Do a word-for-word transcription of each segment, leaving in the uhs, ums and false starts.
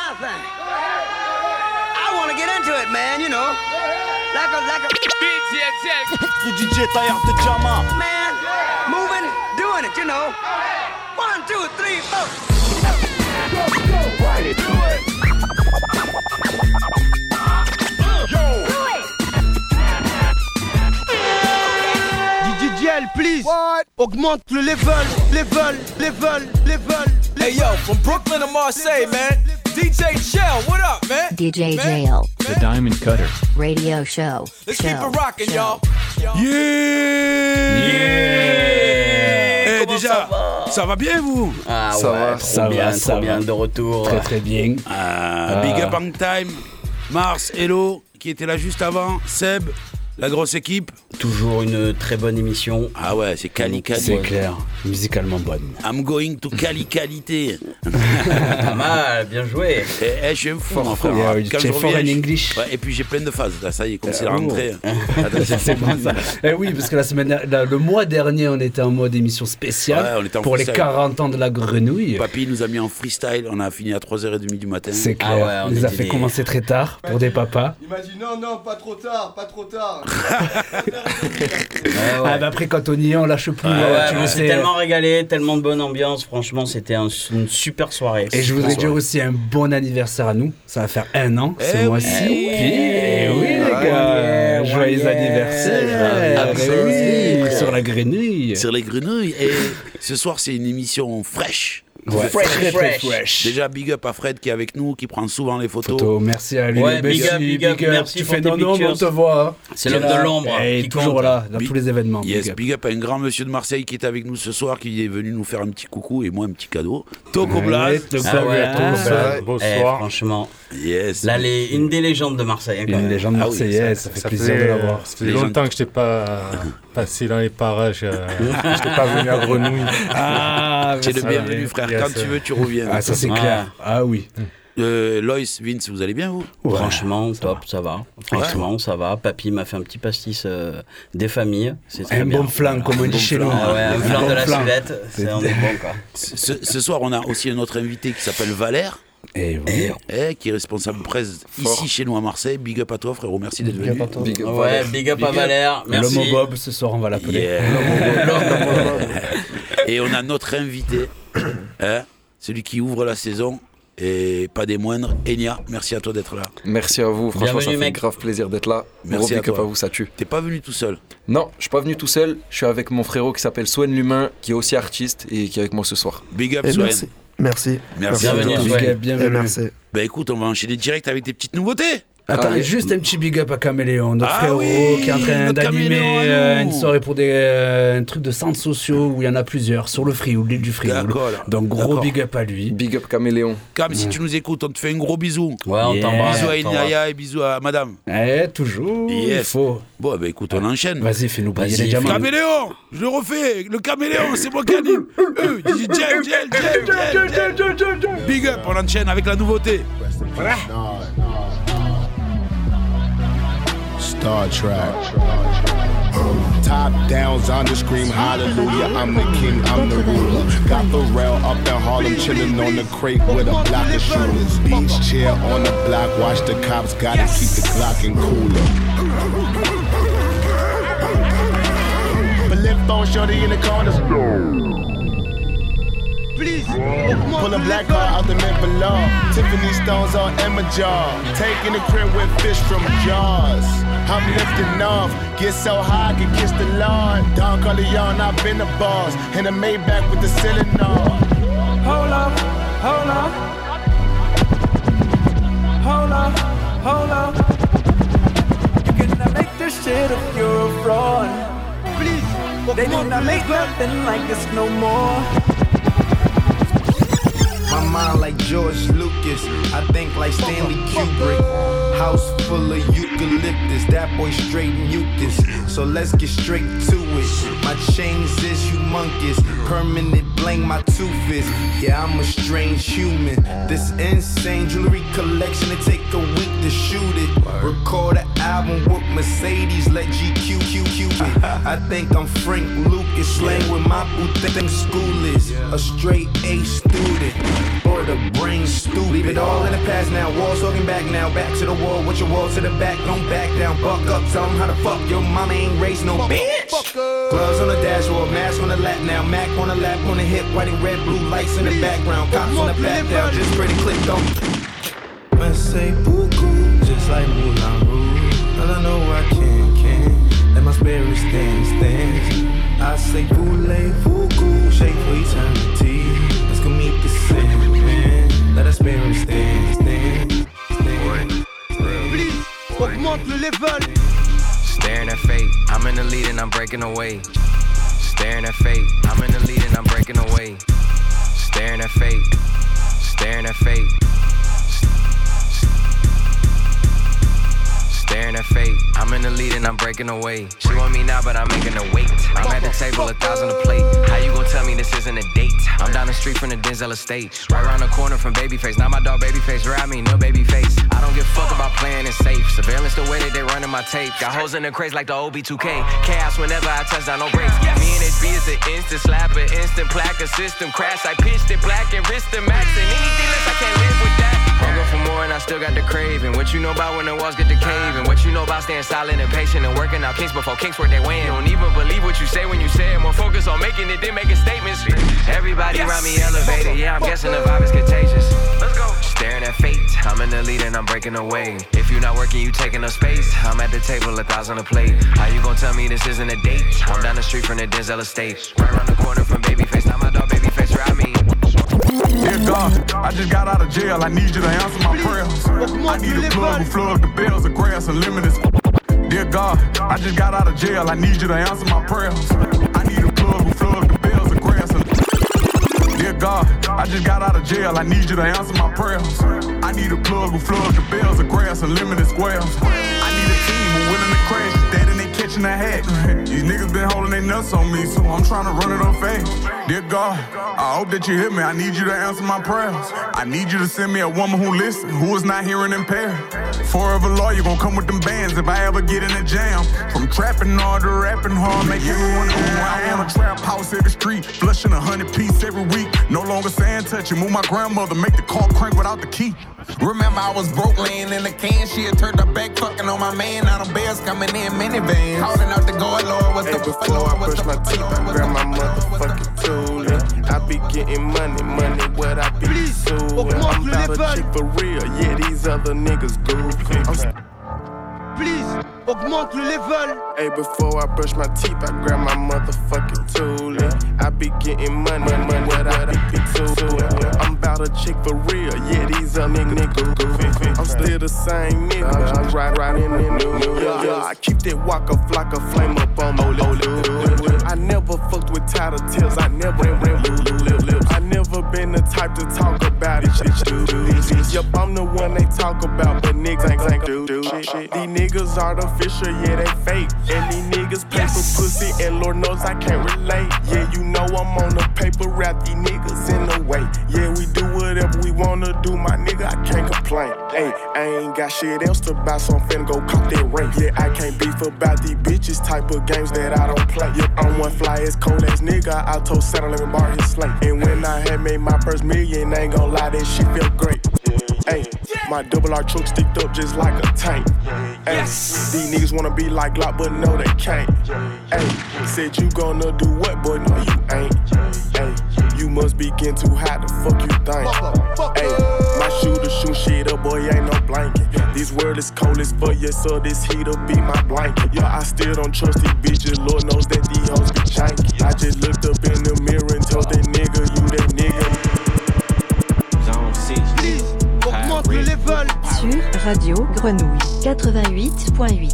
my thing. I want to get into it, man, you know. Like a, like a... Le D J Taillard de Jama. Man, moving, doing it, you know. One, two, three, four. Go, go, ride it, do it. Yo. D J L, please. What? Augmente le level, level, level, level. Hey yo, from Brooklyn to Marseille, man. D J Shell, what up, man? D J man? Jail. The Diamond Cutter. Radio show. Let's show, keep it rocking, show. y'all. Yeah! Yeah! Eh, déjà, ça va? ça va bien, vous? Ah ça ouais, va, trop ça bien, va, trop ça bien, va. de retour. Très très bien. Ah. Ah, Big up on time. Mars, Hello, qui était là juste avant. Seb, la grosse équipe. Toujours une très bonne émission. Ah ouais, c'est Cali Cali. C'est clair, musicalement bonne. I'm going to Cali Qualité. Pas mal, bien joué. Eh, eh, je suis un fou, Fort, mon frère. fort. Quand Yeah, je fort reviens, in je- English. Ouais, et puis j'ai plein de phases. Là, ça y est, comme c'est la oh. rentrée. C'est bon ça. Eh oui, parce que la semaine, la- le mois dernier, on était en mode émission spéciale Ouais, on était en pour freestyle. les quarante ans de la grenouille. Papy nous a mis en freestyle. On a fini à trois heures trente du matin. C'est clair. Il nous a fait commencer très tard pour des papas. Il m'a dit non, non, pas trop tard, pas trop tard. Ah bah après quand on y est, on lâche plus. Ouais, euh, ouais, tu on le s'est sais. tellement régalé, tellement de bonne ambiance. Franchement, c'était un- une super soirée. Et je voudrais Super dire soirée. aussi un bon anniversaire à nous. Ça va faire un an ce Eh oui. mois-ci. Eh oui. Eh oui les Ah, gars, ouais, joyeux ouais. anniversaire. Absolument. Eh oui, sur la grenouille. Sur les grenouilles. Et ce soir, c'est une émission fraîche. Ouais, Fresh, très, très fresh. fresh. Déjà, big up à Fred qui est avec nous, qui prend souvent les photos. Photo, merci à lui. Ouais, Merci, big up, big up, merci Tu pour fais tes non, non, mais on pictures. te voit. hein. C'est Tu es l'homme de là. l'ombre Et qui toujours compte. là, dans Big- tous les événements. Yes, big up. big up à un grand monsieur de Marseille qui est avec nous ce soir, qui est venu nous faire un petit coucou et moi un petit cadeau. Toco Ouais, Blas. Toco Ah ouais, Blas. Toco Blas. Eh, franchement. Yes. Là, les, une des légendes de Marseille. hein, quand Une même. légende Ah oui, marseillaise, ça fait plaisir de l'avoir. Ça fait longtemps que je n'étais pas passé dans les parages. euh, je n'étais pas venu à Grenouille. Ah, Tu es le ça, bienvenu, oui. frère. Yes. Quand tu veux, tu reviens. Ah, ça c'est Ouais. clair. Ah oui. Euh, Loïs, Vince, vous allez bien, vous? Franchement, top, ça va. Franchement, ça va. Papy m'a fait un petit pastis euh, des familles. C'est très Un bien. bon flan, comme on dit chez nous. Ah ouais, un Un flan bon de la flan. Sudette. C'est on est bon, quoi. Ce, ce soir, on a aussi un autre invité qui s'appelle Valère. Et oui. Eh, qui est responsable presse ici chez nous à Marseille. Big up à toi, frérot. Merci d'être venu. Big up, ouais, big up à Valère. Merci. L'homme au bob, ce soir, on va l'appeler. Yeah. L'homme au bob. Et on a notre invité, hein, celui qui ouvre la saison, et pas des moindres, Enya. Merci à toi d'être là. Merci à vous, franchement Bienvenue, ça fait mec. grave plaisir d'être là. Merci Gros à big up toi. à vous, ça tue. T'es pas venu tout seul? Non, je suis pas venu tout seul, je suis avec mon frérot qui s'appelle Swen L'Humain, qui est aussi artiste et qui est avec moi ce soir. Big up, Et Swen. merci. Merci. Merci Bienvenue, à toi. Swen. Et Bienvenue. merci. Bah écoute, on va enchaîner direct avec tes petites nouveautés. Attends, Allez. juste un petit big up à Caméléon, notre Ah frérot oui, qui est en train notre d'animer Caméléon à euh, nous. une soirée pour des euh, un truc de centres sociaux où il y en a plusieurs sur le Frioul, l'île du Frioul. D'accord, là. Donc gros D'accord. big up à lui. Big up Caméléon. Cam, si tu nous écoutes, on te fait un gros bisou. Ouais, on Yeah. t'embrasse. Bisous à on t'embrasse. Inaya et bisous à madame. Eh, toujours, il Yes. faut. Bon, bah écoute, on enchaîne. Vas-y, fais-nous briller Vas-y, les diamants. Caméléon, je le refais. Le caméléon, c'est moi qui anime. Euh, dis gel, gel, gel, gel, gel. Big up, on enchaîne avec la nouveauté. Star Trek. Top downs on the scream, hallelujah, I'm the king, I'm the ruler. Got the rail up in Harlem, chillin' on the crate with a block of shooters. Beach chair on the block, watch the cops, gotta keep the Glock in cooler. But lift phone shorty in the corner. Please. Pull a black car out the mint below. Tiffany stones on Emma jar. Taking the crib with fish from jars. I'm lifting off. Get so high, I can kiss the lawn. Don Corleone, I've been the boss. In a Maybach with the ceiling on. Hold up, hold up. Hold up, hold up. You cannot make this shit if you're a fraud. Please, they do not make nothing like this no more. My mind like George Lucas, I think like Stanley Kubrick. House full of eucalyptus, that boy straight mucus. So let's get straight to it. My chains is humongous, permanent bling my tooth is. Yeah, I'm a strange human. This insane jewelry collection, it take a week to shoot it. Record an album with Mercedes, let G Q Q Q it. I think I'm Frank Lucas, slang with my boo think school is. A straight A student, or the brain stupid. it all in the past now. Walls talking back now. Back to the wall with your wall to the back. Don't back down. Buck up. Tell them how the fuck your mama ain't raised no bitch. Gloves on the dashboard. Mask on the lap now. Mac on the lap, on the hip. White and red, blue lights in the background. Cops on the back down. Just pretty click on. I say beaucoup, just like Moulin Rouge. All I know I can, can. Let my spirit stand, stand. I say voulez-vous, shape for eternity. Let's go meet the Sandman. Let our spirit stand, stand, stand. Please, augmente le level. Staring at fate, I'm in the lead and I'm breaking away. Staring at fate, I'm in the lead and I'm breaking away. Staring at fate, staring at fate. Staring at fate, I'm in the lead and I'm breaking away. She want me now, but I'm making her wait. I'm at the table, a thousand a plate. How you gon' tell me this isn't a date? I'm down the street from the Denzel estate, right around the corner from Babyface. Now my dog Babyface, ride me, no Babyface. I don't give a fuck about playing it safe. Surveillance the way that they running my tape. Got hoes in the crates like the O B two K. Chaos whenever I touch down, no brakes. Me and H B is an instant slapper, instant plaque, a system crash. I pitched it black and wrist the max, and anything less I can't live with that. Hunger for more and I still got the craving. What you know about when the walls get to caving? What you know about staying silent and patient and working out kinks before kinks work their way in? You don't even believe what you say when you say it. More focus on making it than making statements. Everybody yes. around me elevated. Yeah, I'm guessing the vibe is contagious. Let's go. Staring at fate. I'm in the lead and I'm breaking away. If you're not working, you taking up space. I'm at the table, a thousand a plate. How you gon' tell me this isn't a date? I'm down the street from the Denzel estate, right around the corner from Babyface. Now my dog Babyface ride me. Dear God, I just got out of jail. I need you to answer my prayers. I need a plug who flood the bells of grass and limit this. Dear God, I just got out of jail. I need you to answer my prayers. I need a plug who flood the bells of grass and. Dear God, I just got out of jail. I need you to answer my prayers. I need a plug who flood the bells of grass and limited squares. I need a team who willing to crash. Dead and they catching a hat. These niggas been holding their nuts on me, so I'm trying to run it up fast. Dear God, I hope that you hear me. I need you to answer my prayers. I need you to send me a woman who listens, who is not hearing impaired. Forever lawyer gon' come with them bands if I ever get in a jam. From trapping hard to rapping hard, make everyone know who I am. A trap house every street, flushing a hundred piece every week. No longer saying touch it, move my grandmother, make the car crank without the key. Remember I was broke laying in the can. She had turned her back fucking on my man. Now them bears coming in minivans. Calling out the God, Lord, what's hey, the before Lord, I brush my teeth, I grab my motherfucking tool. I be getting money, money, what I be suing. I'm about a chick for real, yeah, these other niggas goofy. I'm Please, augmente le level. Hey, before I brush my teeth, I grab my motherfucking tool. I be getting money, money, what I be suing. I'm about a chick for real, yeah, these other niggas goofy. I'm still the same nigga, I'm right, right in the new. Yeah, yeah, I keep that walker flock of flame up on my lip. I never fucked with title tails, I never ran lips. I never been the type to talk about it, shit, shit. Yup, I'm the one they talk about, but niggas ain't, ain't do, do shit. These niggas artificial, yeah, they fake. And these niggas pay for pussy, and Lord knows I can't relate. Yeah, you know I'm on the paper, wrap these niggas in the way. Yeah, we do whatever we wanna do, my nigga, I can't complain. Hey, I ain't got shit else to buy, so I'm finna go cop that rate. Yeah, I can't beef about these bitches, type of games that I don't play. Yeah, I'm one fly ass, cold ass nigga, I told Santa let me borrow his slate. And when I had made my first million, I ain't gon' lie, that shit felt great. Hey, my double R truck sticked up just like a tank. Ay, yes. These niggas wanna be like Glock, but no, they can't. Ay, said you gonna do what, boy? No, you ain't. Ay, you must be getting too hot, the fuck you think? Ay, my shooter shoot shit up, boy, ain't no blanket. This world is cold as fuck, yeah, so this heat'll be my blanket. Yeah, I still don't trust these bitches, Lord knows that these hoes be janky. I just looked up in the mirror and told that nigga, you that nigga. Zone six, please. Augmente le level. Sur Radio Grenouille quatre-vingt-huit point huit.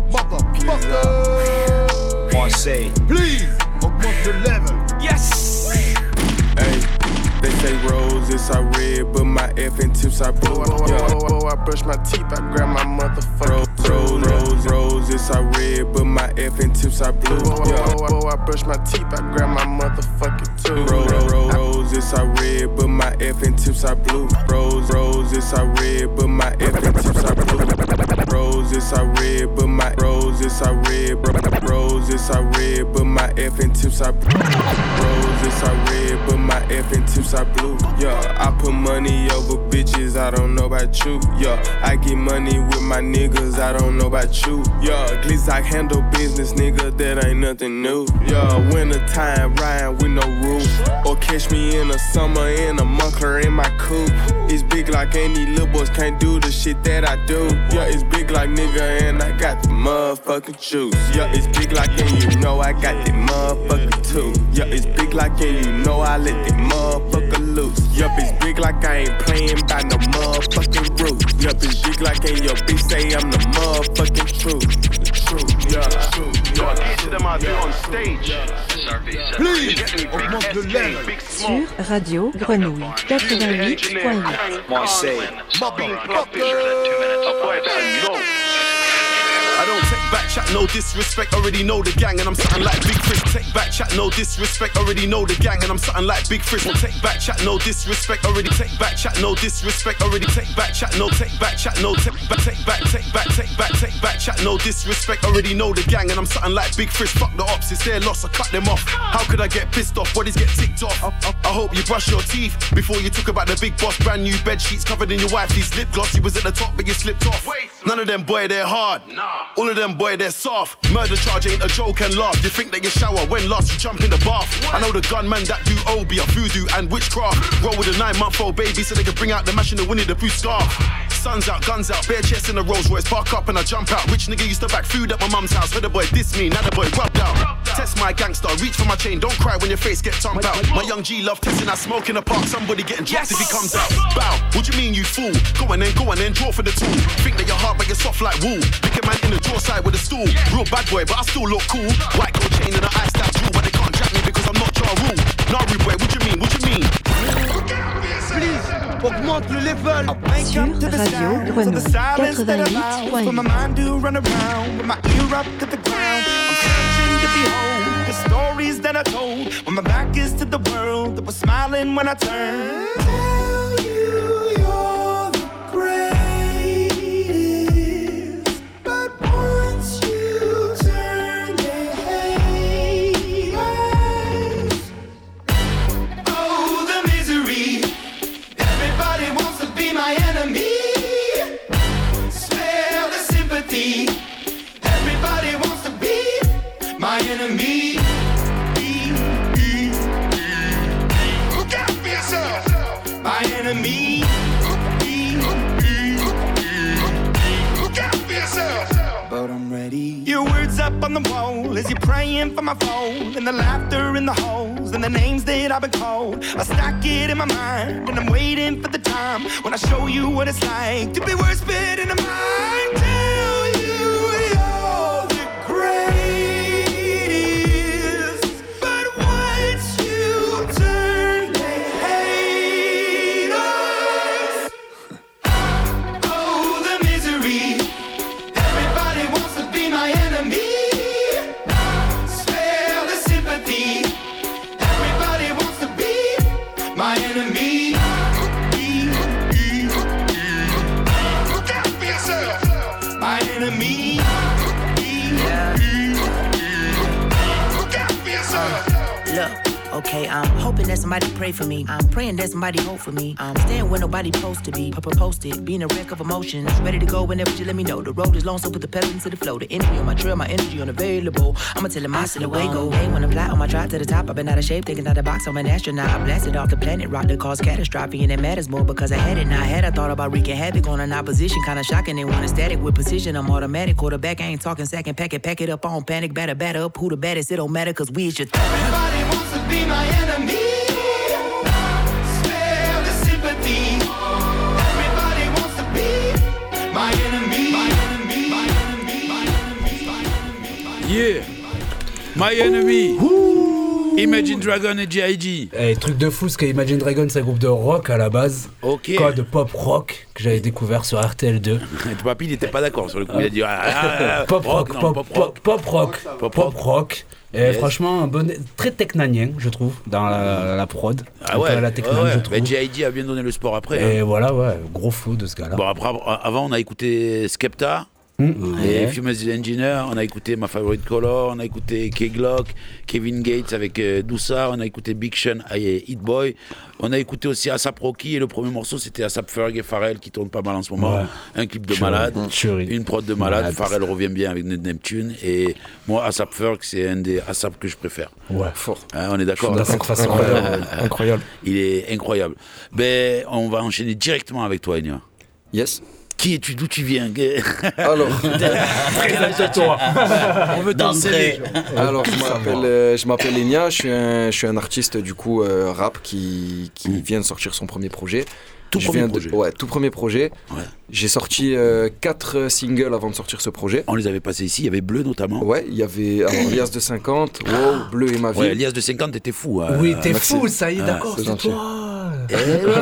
Marseille, please augmente le level. Yes. Hey, they say roses are red, but my effing tips are blue. Yeah, oh, oh, I brush my teeth, I grab my motherfucking rose, rose, roses are red, but my effing tips are blue. Yeah, oh, oh, I brush my teeth, I grab my motherfucking tooth. Rose, rose, roses are red, but my effing tips are blue. Rose, roses are red, but my effing tips are blue. Roses are red, but my roses are red. Roses are red, but my effing tips are blue. Roses are red, but my effing tips are blue. Yeah, I put money over bitches. I don't know about about you. Yeah, I get money with my niggas, I don't know about you. Yeah, glitz I handle business, nigga, that ain't nothing new. Yeah, winter time riding with no roof, or catch me in the summer in a muffler in my coupe. It's big like any little boys can't do the shit that I do. Yeah, it's big like nigga and I got the motherfucking juice. Yeah, it's big like and you know I got the motherfucker too. Yeah, it's big like and you know I let the motherfucker loose. Yup, it's big like I ain't playing by no motherfucking roof. Yup, it's big like and your bitch say I'm the motherfucking truth. The truth, yeah, truth, yeah. Each of them I do on stage. Please, augmente le level. Sur Radio Grenouille quatre-vingt-huit point huit. Marseille. I don't take back chat, no disrespect, already know the gang and I'm something like Big Fish. Take back chat, no disrespect, already know the gang and I'm something like Big Fish. Won't take back chat, no disrespect, already take back chat, no disrespect, already take back chat, no take back chat, no take back, take back, take back, take back, take back chat, no disrespect, already know the gang and I'm something like Big Fish. Fuck the ops, it's their loss, I cut them off. How could I get pissed off? Bodies get ticked off. I hope you brush your teeth before you talk about the big boss. Brand new bed sheets covered in your wifey's lip gloss. You was at the top but you slipped off. None of them boy, they're hard. All of them boy, they're soft. Murder charge ain't a joke and laugh. You think that you shower when last you jump in the bath. I know the gunman that do O B, a voodoo and witchcraft. Roll with a nine month old baby so they can bring out the mash in the Winnie the Pooh scarf. Sun's out, guns out, bare chest in a Rolls Royce. Park up and I jump out. Rich nigga used to back food at my mum's house. Heard the boy diss me, now the boy rubbed out. Test my gangster, reach for my chain. Don't cry when your face gets thumped out. My young G love testing that smoke in the park. Somebody getting dropped if he comes out. Bow, what you mean you fool? Go on then, go on then, draw for the tool. Think that you're hard but you're soft like wool. Pick a man in the draw side with a stool. Real bad boy but I still look cool. White gold chain and an ice tattoo, but they can't jack me because I'm not Ja Rule. Naru boy, what you mean, what you mean? Please, augmente le level. Sur Radio Grenouille quatre-vingt-huit point my mind do run around with my ear up to the ground. I'm searching to behold the stories that I told when my back is to the world that was smiling when I turned. Tell you you're the greatest, but once you turn they hate us. Oh, the misery. Everybody wants to be my enemy. Spare the sympathy. Everybody wants to be my enemy. Look out for yourself. My enemy. Look out for yourself. But I'm ready. Your words up on the wall as you're praying for my phone, and the laughter in the halls and the names that I've been called. I stack it in my mind and I'm waiting for the time when I show you what it's like to be worse fit in a mind. Tell you you're the greatest, but once you turn they hate us. Oh, the misery. Everybody wants to be my enemy. Spare the sympathy. Everybody wants to be my enemy. Look out for yourself. My enemy. Look out for yourself. Look, okay, I'm hoping that somebody pray for me. I'm praying that somebody hope for me. I'm staying where nobody supposed to be. Papa posted, being a wreck of emotions. Ready to go whenever you let me know. The road is long, so put the pedal into the flow. The energy on my trail, my energy unavailable. I'ma tell him I still away go. Hey, when I fly on my drive to the top, I've been out of shape, thinking out the box. I'm an astronaut. I blasted off the planet, rock that caused catastrophe, and it matters more because I had it. Now I had I thought about wreaking havoc on an opposition, kinda shocking. They want a static with precision. I'm automatic, quarterback. I ain't talking second pack it, pack it up on panic, batter, batter up. Who the baddest? It don't matter, cause we is your th- Everybody wants to be my enemy. Spare the sympathy. Everybody wants to be my enemy. My enemy. My enemy. My enemy. My enemy. Yeah, My Enemy. Imagine Dragon et G I G. Eh, truc de fou, parce que Imagine Dragon c'est un groupe de rock à la base. Ok. Quoi, de pop rock que j'avais découvert sur R T L deux. Papy il n'était pas d'accord sur le coup. Il a dit ah, ah, ah, pop rock, non, pop, pop pop, rock, pop rock, pop pop rock. Et yes. Franchement, un bon, très technanien, je trouve, dans la, la prod. Ah ouais, la technan, ouais, ouais. je trouve. Bah, G I G a bien donné le sport après. Et hein. voilà, ouais, gros flow de ce gars-là. Bon, après, avant, on a écouté Skepta. Mmh. Et Ouais. Famous Engineer, on a écouté My Favorite Color, on a écouté K-Glock, Kevin Gates avec euh, Doussa, on a écouté Big Sean et Hit Boy. On a écouté aussi A$AP Rocky et le premier morceau c'était A$AP Ferg et Pharrell qui tourne pas mal en ce moment. Ouais. Un clip de Tuerie. malade, Tuerie. une prod de malade. Malade. Pharrell revient bien avec Neptune et moi A$AP Ferg c'est un des A$AP que je préfère. Ouais. Fort. Hein, on est d'accord. De cette façon. Incroyable. Incroyable. Il est incroyable. Ben, on va enchaîner directement avec toi, Enya. Yes. Qui es-tu? D'où tu viens? Alors, Présente-toi. On veut ton C V. Alors, je m'appelle, euh, je m'appelle Enya, je suis un, je suis un artiste du coup euh, rap qui, qui Mm. vient de sortir son premier projet. Tout Je premier viens de- projet. Ouais, tout premier projet. Ouais. J'ai sorti euh, quatre singles avant de sortir ce projet. On les avait passés ici, il y avait Bleu notamment. Ouais, il y avait alors, Lias de cinquante, Wow, Bleu et ma vie. Ouais, Elias de cinquante, t'étais fou. hein. Oui, t'es merci. fou, ça y est, Ah, d'accord, c'est c'est gentil. toi. Eh,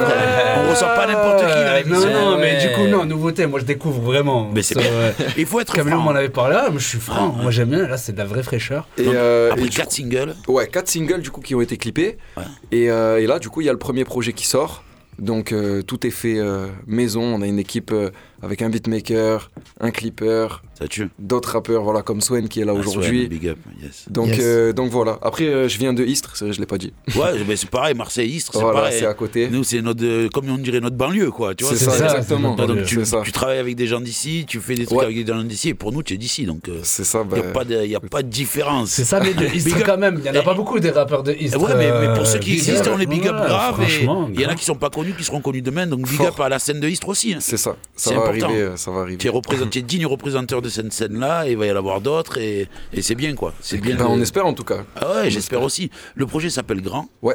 on ressent pas n'importe qui dans l'émission. Non, non, mais Ouais. du coup, non, nouveauté, moi je découvre vraiment. Mais c'est Ça, bien. ouais. Il faut être Camille franc. m'en avait parlé, ah, mais je suis franc, moi j'aime bien, là c'est de la vraie fraîcheur. Et, Donc, euh, Après et du quatre singles. coup- ouais, quatre singles du coup qui ont été clippés. Ouais. Et, euh, et là, du coup, il y a le premier projet qui sort. Donc euh, tout est fait euh, maison. On a une équipe euh, avec un beatmaker, un clipper, Ça tue. d'autres rappeurs, voilà, comme Swen qui est là Ah, aujourd'hui. Swen, big up, yes. Donc, Yes. euh, donc voilà. Après, euh, je viens de Istres, c'est vrai, je l'ai pas dit. Ouais, mais c'est pareil, Marseille-Istres, c'est Voilà, pareil. c'est à côté. Nous, c'est notre, euh, comme on dirait, notre banlieue, quoi. Tu vois, C'est ça, ça, exactement. c'est notre Donc tu, C'est ça. tu travailles avec des gens d'ici, tu fais des trucs Ouais. avec des gens d'ici, et pour nous, tu es d'ici, donc il C'est ça. Bah, n'y a, pas de- y a pas de différence. C'est ça, mais de Big Istres up. quand même, il y en a pas beaucoup des rappeurs de Istres. Ouais, mais, mais pour ceux qui euh, existent, big on les big up Ouais, grave. Et franchement, il y en a grave. qui sont pas connus, qui seront connus demain, donc big Fort. up à la scène de Istres aussi. hein. c'est ça. Ça C'est va important. arriver. euh, Ça va arriver. Tu es, représent- tu es digne représentant de cette scène-là, et il va y en avoir d'autres, et, et c'est bien, quoi. C'est bien. Ben, de- on espère en tout cas. Ah ouais, j'espère aussi. Le projet s'appelle Grand. Ouais.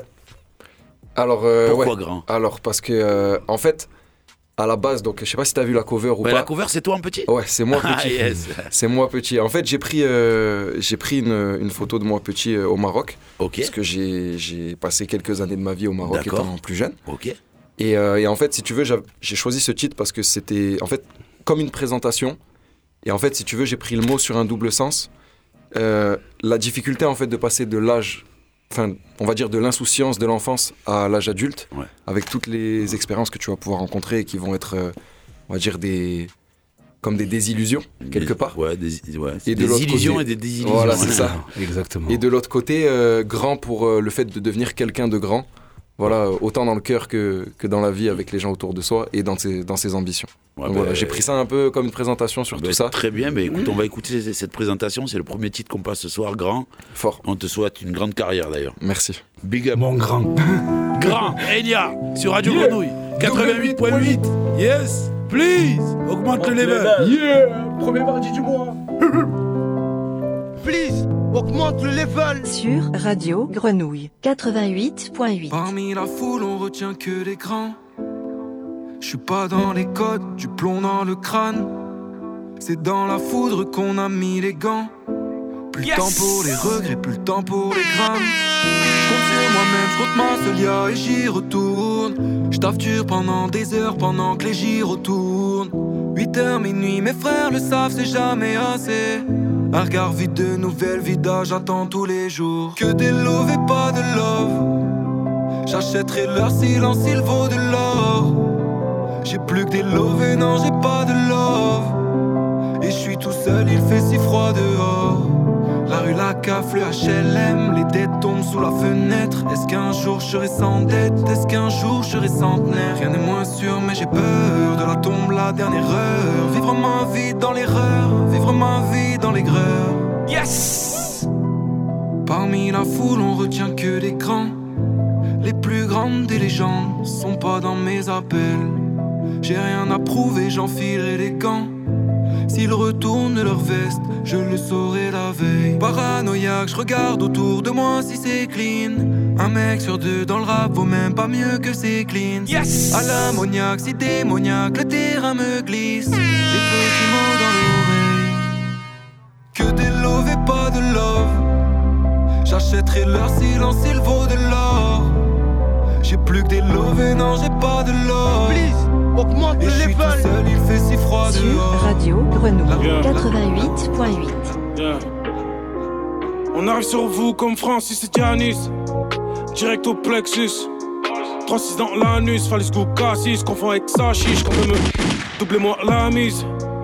Alors, euh, Pourquoi ouais. Grand? Alors, parce que, euh, en fait, à la base, donc, je sais pas si t'as vu la cover ou Ouais, pas. la cover, c'est toi en petit? Ouais, c'est moi Ah, petit. yes. C'est moi petit. En fait, j'ai pris, euh, j'ai pris une, une photo de moi petit euh, au Maroc. Ok. Parce que j'ai, j'ai passé quelques années de ma vie au Maroc D'accord. étant plus jeune. Ok. Et, euh, et en fait, si tu veux, j'av- j'ai choisi ce titre parce que c'était, en fait, comme une présentation. Et en fait, si tu veux, j'ai pris le mot sur un double sens. Euh, la difficulté, en fait, de passer de l'âge, enfin, on va dire de l'insouciance de l'enfance à l'âge adulte, Ouais. avec toutes les expériences que tu vas pouvoir rencontrer et qui vont être, euh, on va dire, des, comme des désillusions, quelque Des- part. Ouais, des, ouais, Et de des l'autre illusions côté- et des désillusions. Voilà, c'est Ouais. ça. Exactement. Et de l'autre côté, euh, grand pour euh, le fait de devenir quelqu'un de grand. Voilà, euh, autant dans le cœur que, que dans la vie avec les gens autour de soi et dans ses, dans ses ambitions. Ouais, Donc bah, voilà, j'ai pris ça un peu comme une présentation sur Bah, tout ça. Très bien, mais écoute, on va écouter c- cette présentation. C'est le premier titre qu'on passe ce soir, Grand. Fort. On te souhaite une grande carrière d'ailleurs. Merci. Big up. Mon grand. Grand, Enya, sur Radio Yeah. Grenouille, quatre-vingt-huit point huit. Yes, please, augmente le level. Yeah, premier mardi du mois. Please, augmente le level. Sur Radio Grenouille quatre-vingt-huit point huit. Parmi la foule, on retient que les grands. Je suis pas dans les codes, du plomb dans le crâne. C'est dans la foudre qu'on a mis les gants. Plus le Yes. temps pour les regrets, plus le temps pour les grammes. Je compte sur moi-même, je compte ma solia et j'y retourne. Je taffe dur pendant des heures, pendant que les gyros tournent. huit heures, minuit, mes frères le savent, c'est jamais assez. Un regard vide de nouvelles vidages, j'attends tous les jours. Que des love et pas de love. J'achèterai leur silence, il vaut de l'or. J'ai plus que des love et non, j'ai pas de love. Et je suis tout seul, il fait si froid dehors. La rue, la caf, le H L M, les dettes tombent sous la fenêtre. Est-ce qu'un jour je serai sans dette? Est-ce qu'un jour je serai centenaire? Rien n'est moins sûr, mais j'ai peur de la tombe, la dernière heure. Vivre ma vie dans l'erreur, vivre ma vie dans l'aigreur. Yes! Parmi la foule, on retient que les grands. Les plus grandes des légendes sont pas dans mes appels. J'ai rien à prouver, j'enfilerai les gants. S'ils retournent leur veste, je le saurai la veille. Paranoïaque, je regarde autour de moi si c'est clean. Un mec sur deux dans le rap vaut même pas mieux que c'est clean. Yes! À l'ammoniaque, si démoniaque, le terrain me glisse. Des petits mots dans l'oreille. Que des love et pas de love. J'achèterai leur silence, il vaut de l'or. J'ai plus que des love et non, j'ai pas de love. Please, augmente Et le je suis tout level. seul, il fait si froid Sur dehors. Radio Grenouille Yeah. quatre-vingt-huit point huit. Yeah. On arrive sur vous comme Francis et Giannis. Direct au plexus. trois six dans l'anus. Fallait ce goût cassis. Confond avec sa chiche. Quand veut me doublez-moi la mise.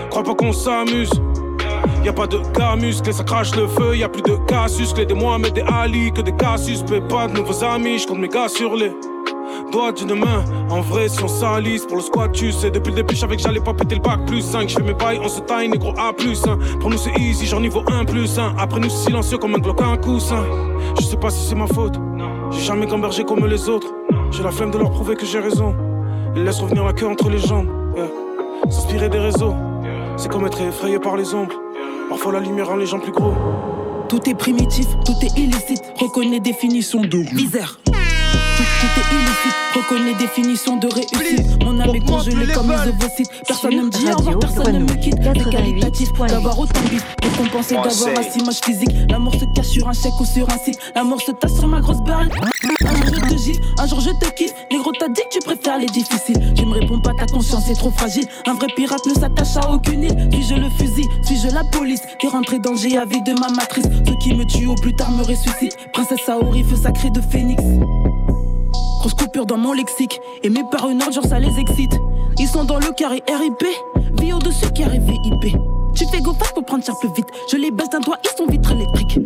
crois pas qu'on s'amuse. Y'a pas de gars musclés, ça crache le feu. Y'a plus de Cassius, clés des Mohamed et Ali que des cas suspects. Pas de nouveaux amis, j'compte mes gars sur les doigts d'une main. En vrai, si on s'alise pour le squat, tu sais. Depuis le début, j'savais que j'allais pas péter le bac plus cinq. J'fais mes bails, on se taille, négro A plus un. Pour nous, c'est easy, genre niveau un plus un. Après nous, c'est silencieux comme un Glock, un coussin. Je sais pas si c'est ma faute. J'ai jamais gambergé comme les autres. J'ai la flemme de leur prouver que j'ai raison. Ils laissent revenir la queue entre les jambes. Yeah. S'inspirer des réseaux, c'est comme être effrayé par les ombres. Parfois la lumière rend les gens plus gros. Tout est primitif, tout est illicite. Reconnais définition de misère. Tout, tout est illicite, reconnais définition de réussite. Mon âme est congelée comme les ovocytes. Personne ne me dit au revoir, personne ne me quitte. C'est qualitatif d'avoir autant de bif. Récompensé d'avoir un si moche physique. L'amour se cache sur un chèque ou sur un site. L'amour se tasse sur ma grosse barre. Un jour je te gifle, un jour je te kiffe. Négro t'as dit que tu préfères les difficiles. Tu me réponds pas, ta conscience est trop fragile. Un vrai pirate ne s'attache à aucune île. Suis-je le fusil, suis-je la police qui est rentré dans le G A V de ma matrice. Ceux qui me tuent au plus tard me ressuscitent. Princesse Saori, feu sacré de phénix. Grosse coupure dans mon lexique. Aimés par une ordre, genre ça les excite. Ils sont dans le carré R I P. Vie au-dessus carré V I P. Tu fais go fast pour prendre cher plus vite. Je les baisse d'un doigt, ils sont vitres électriques.